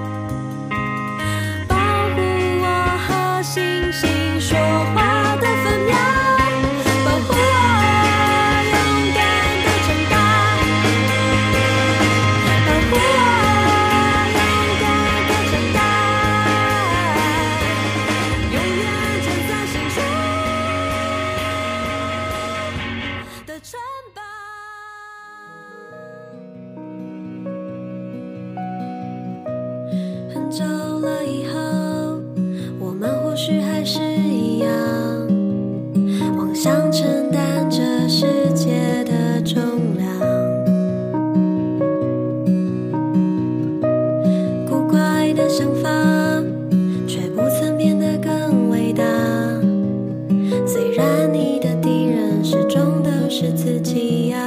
走了以后，我们或许还是一样，妄想承担这世界的重量。古怪的想法却不曾变得更伟大，虽然你的敌人始终都是自己呀。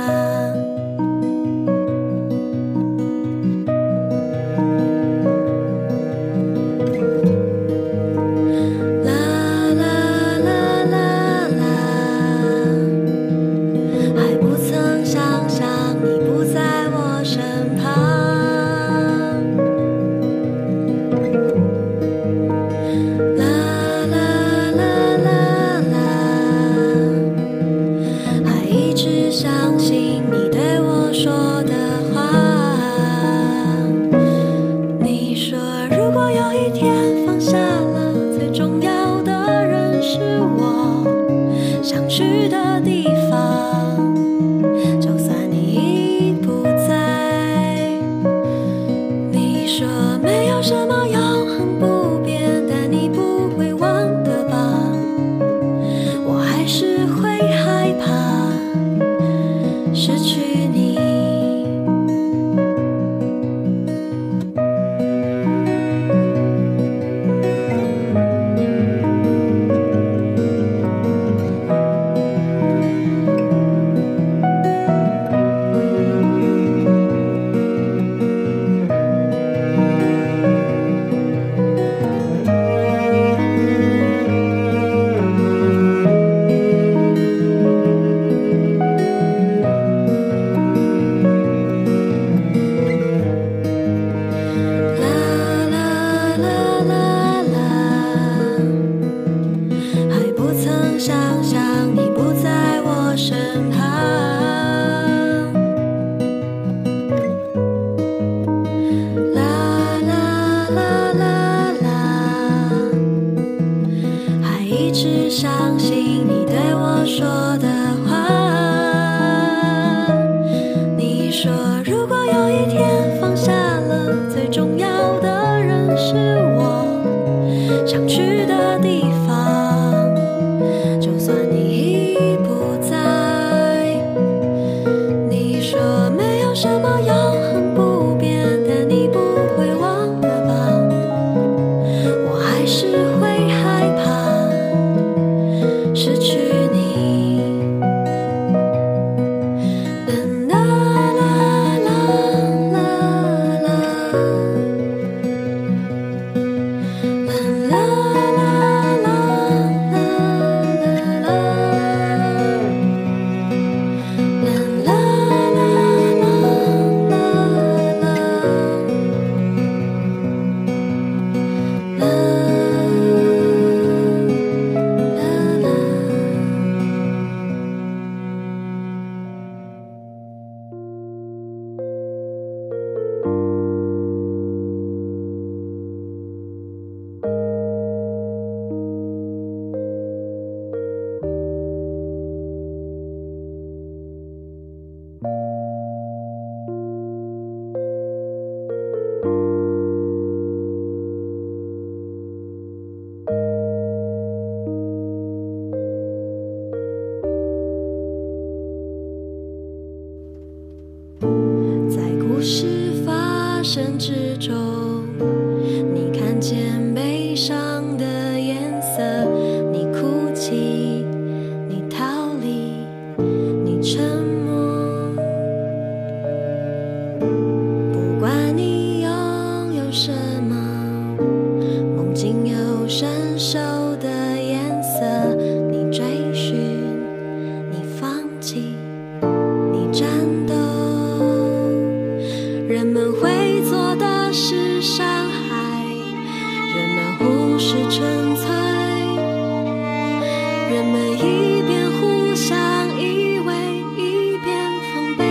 之中，你看见悲伤的颜色，你哭泣，你逃离，你沉默。不管你拥有什么，梦境有伸手的颜色，你追寻，你放弃，你战斗。人们会做的是伤害，人们忽视纯粹，人们一边互相依偎，一边防备，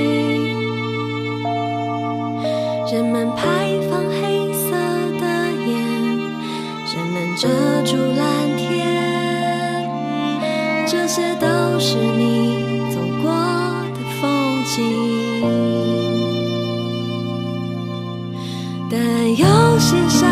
人们排放黑色的烟，人们遮住蓝天，这些都是你走过的风景。但有些伤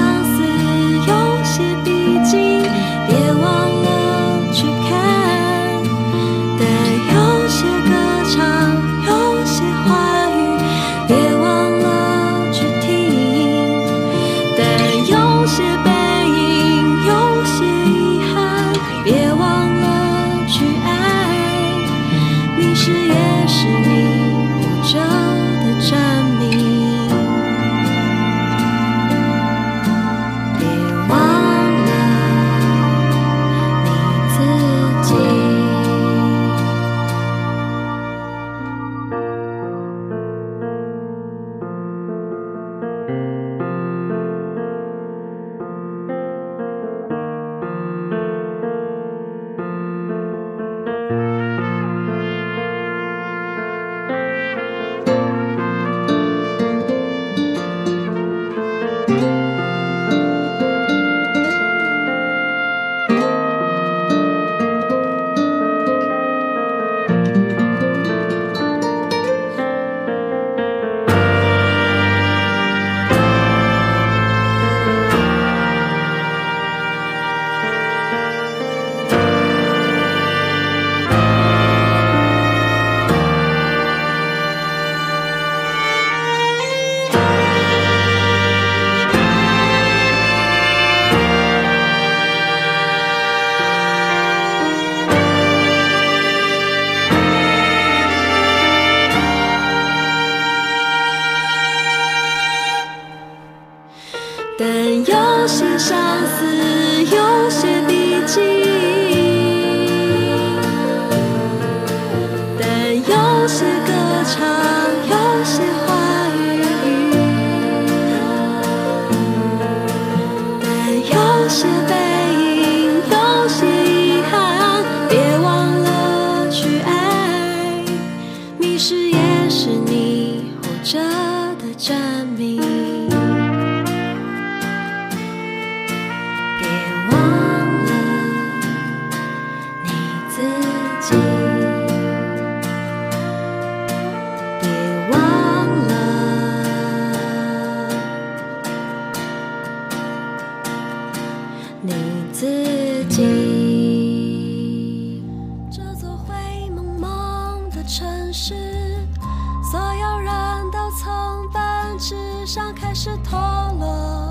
但有些相思，有些笔记，但有些歌唱，有些话语，但有些背影，有些遗憾，别忘了去爱，迷失也是你活着的证明。开始脱落，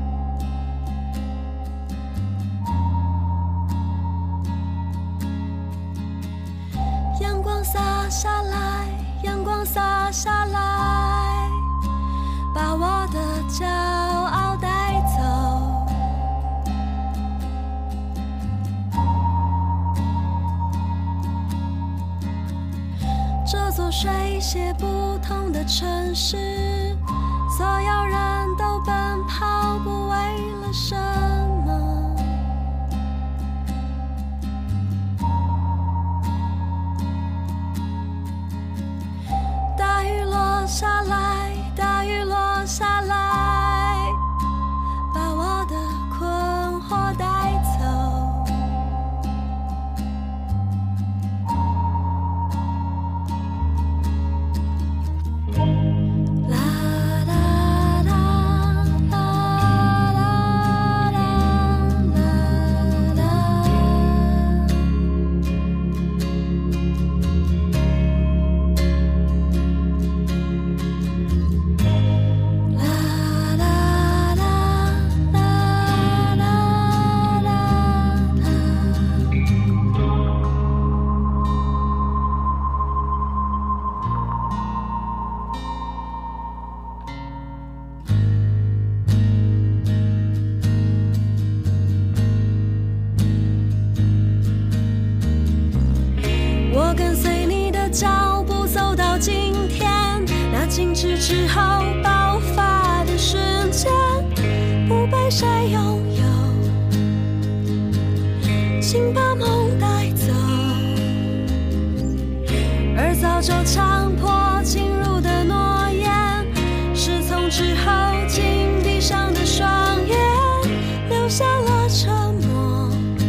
阳光洒下来，阳光洒下来，把我的骄傲带走。这座水泄不通的城市，所有人都奔跑，不为了什么？大雨落下来，大雨落下来，把我的困惑带走。静止之后爆发的瞬间，不被谁拥有，请把梦带走。而早就强迫进入的诺言，是从之后紧闭上的双眼，留下了沉默。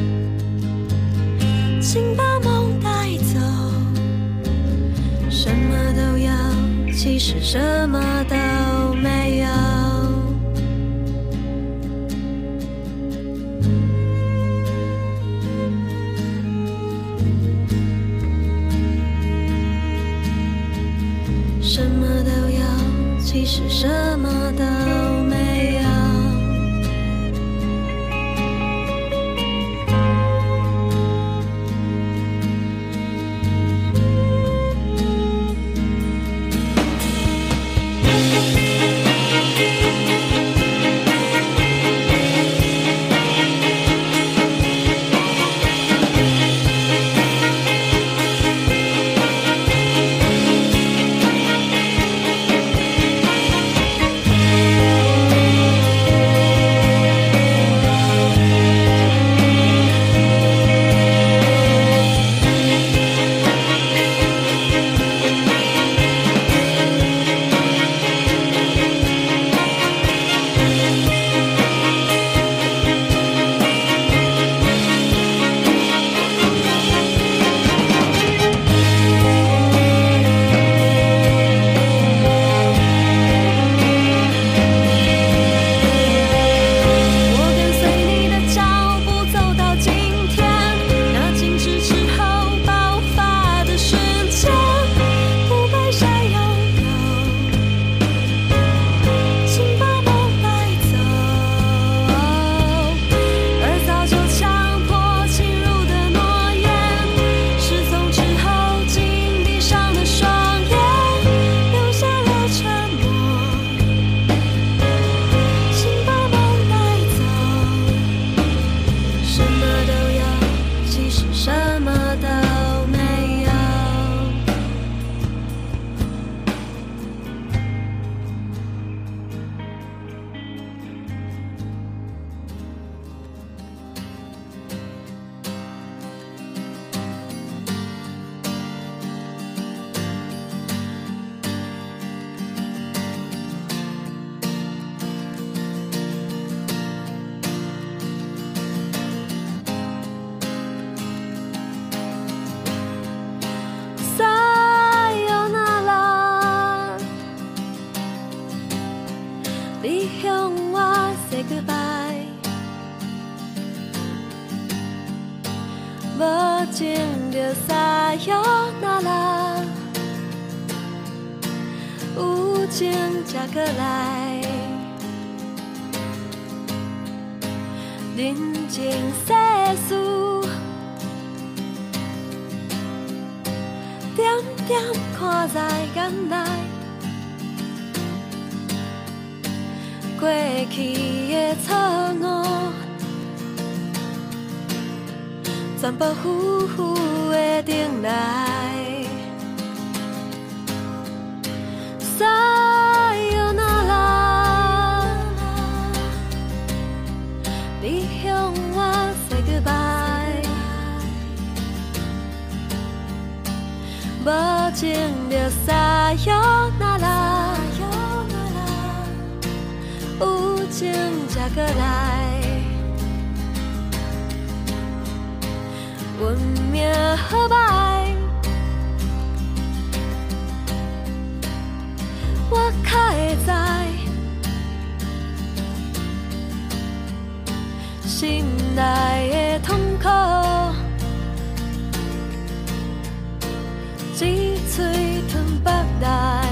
请把梦带走，什么都有，其实什么都没有。什么都有，其实什么都没有。 你向我 say goodbye， 无情就撒由那拉，有情才过来，人情世事，点点看在眼内。过去的错误，全部浮浮的顶来。撒由那拉，你向我 say goodbye， 无情就撒由那拉。有情才过来，运命好歹，我较会知，心内的痛苦，一嘴吞腹内。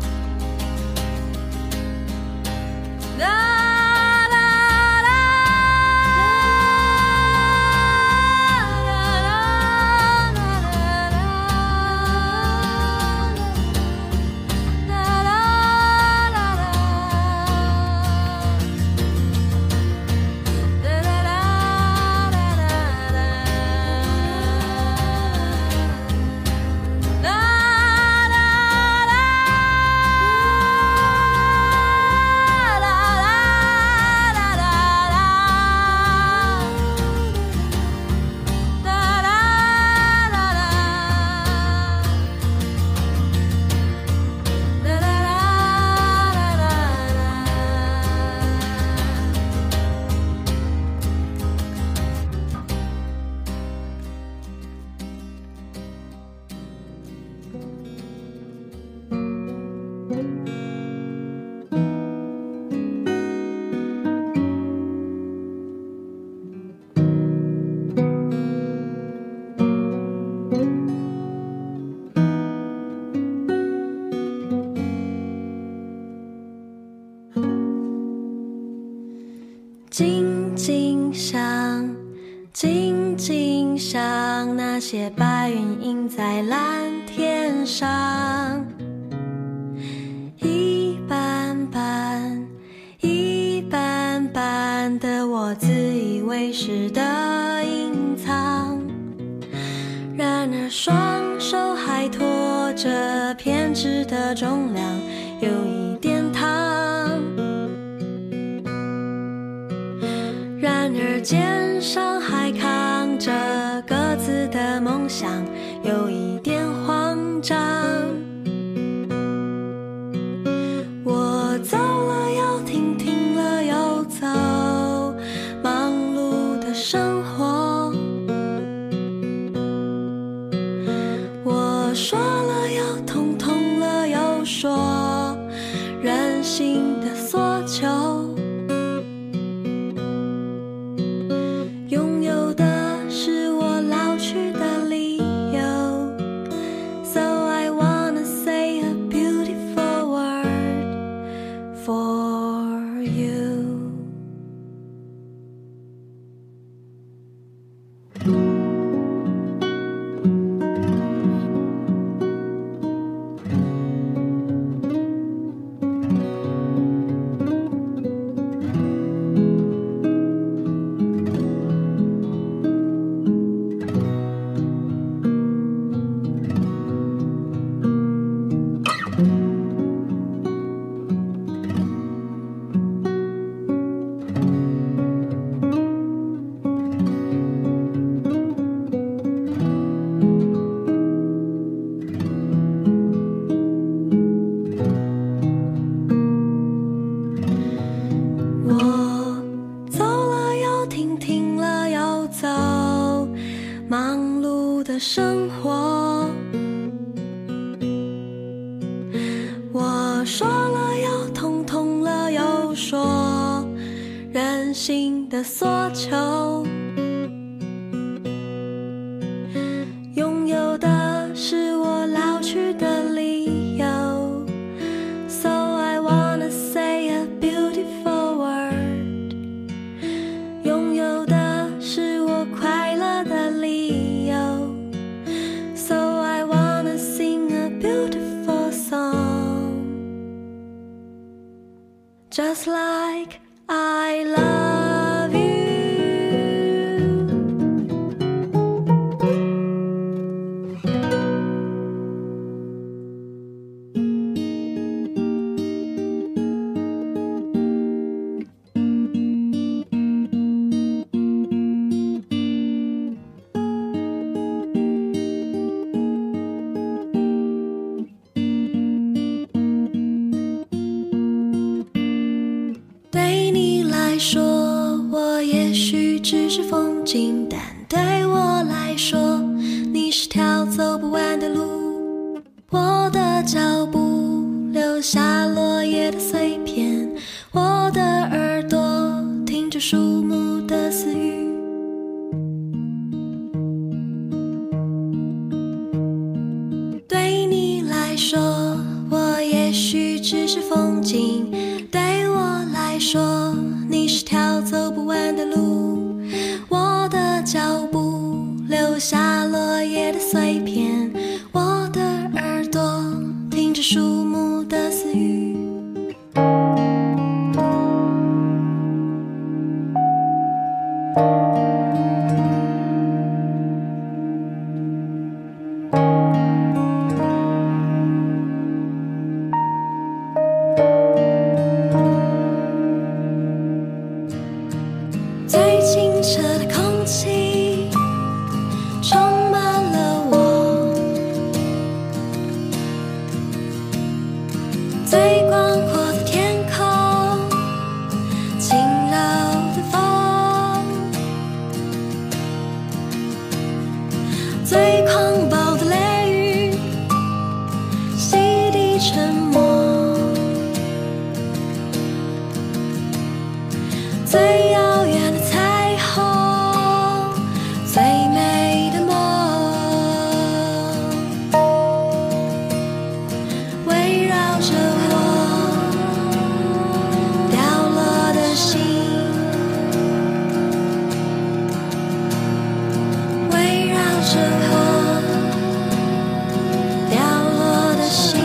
静静想，静静想，那些白云映在蓝天上，一般般，一般般的我自以为是的隐藏，然而双手还托着偏执的重量，有一点烫。然而肩上还扛着各自的梦想，有一点慌张。我走了又停，停了又走，忙碌的生活。我说了又痛，痛了又说，任性的索求。生活，我说了又痛，痛了又说。 真心的所求，拥有的是我老去的理由。 So I wanna say a beautiful word， 拥有的是我快乐的理由。 So I wanna sing a beautiful song， just like I love you。 对你来说，我也许只是风景，但对我来说，你是条走不完的路。我的脚步留下落叶的碎片，我的耳朵听着树木的私语。对你来说，我也许只是风景，对我来说，你是条走不完的路。我的脚步留下落叶的碎片，我的耳朵听着树木的私语。最清澈的空气充满了我，最广阔的天空，轻柔的风，最狂暴的雷雨洗涤沉默，最遥远的彩虹，最美的梦，围绕着我掉落的心，围绕着我掉落的心。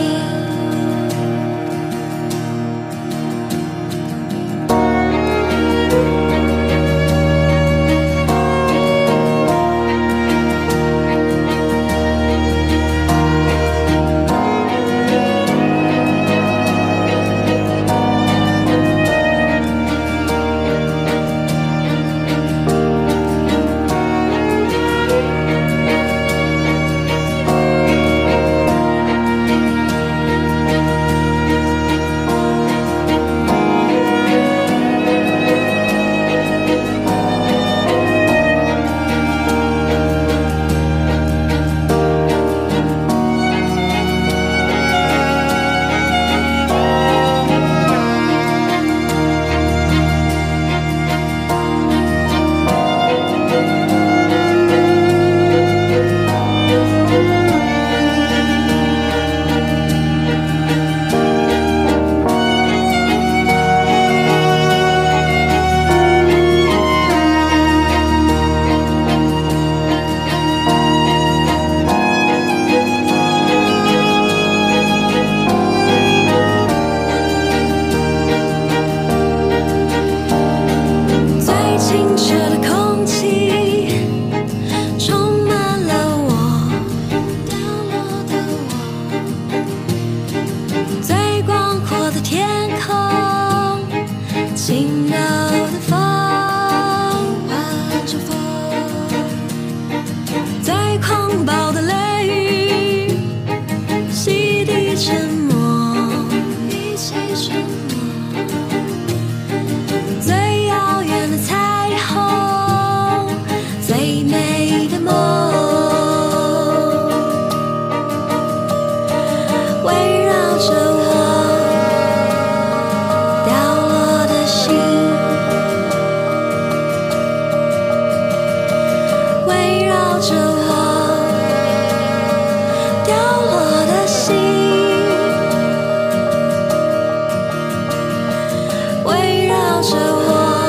着我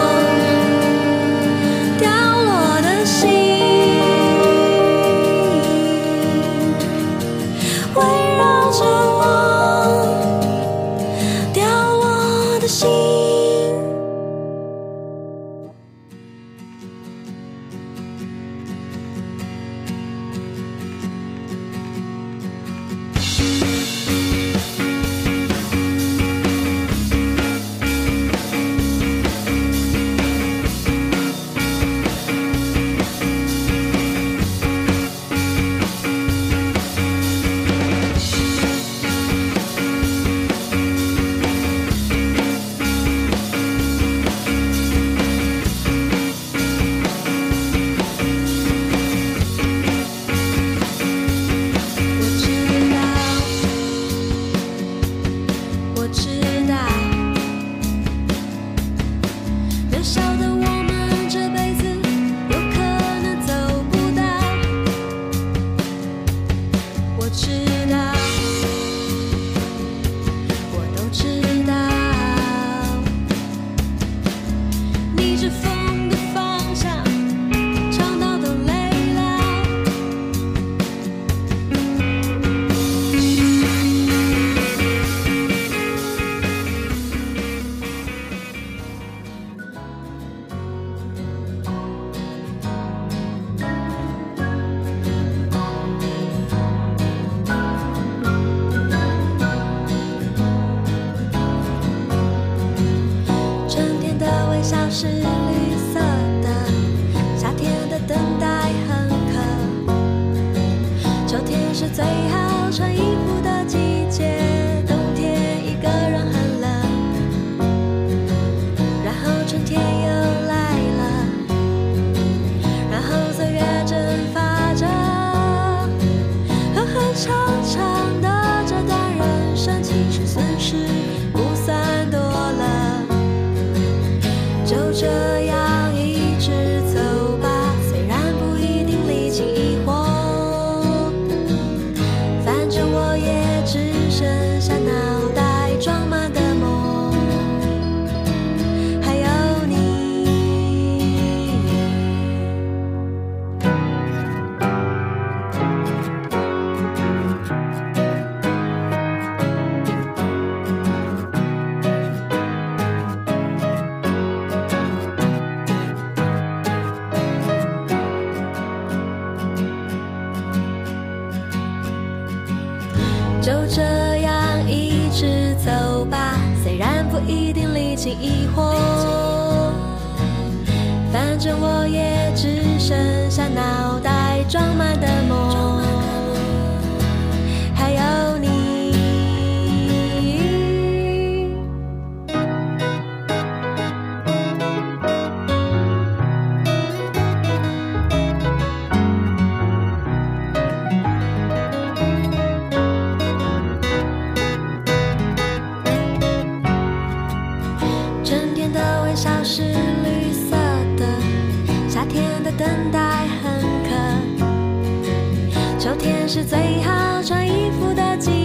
掉落的心，围绕着我掉落的心。是绿色的，夏天的等待很渴，秋天是最好穿衣服的季节，冬天一个人很冷，然后春天又来了，然后岁月蒸发着，狠狠长长的这段人生，其实损失不算多了，就这样一直走吧，虽然不一定历经疑惑，反正我也只剩下脑袋装满的梦，还有你。就这样一直走吧，虽然不一定历经疑惑，反正我也只剩下脑袋装满的梦，还有你。春天的微笑是绿色的，夏天的等待很渴，秋天是最好穿衣服的季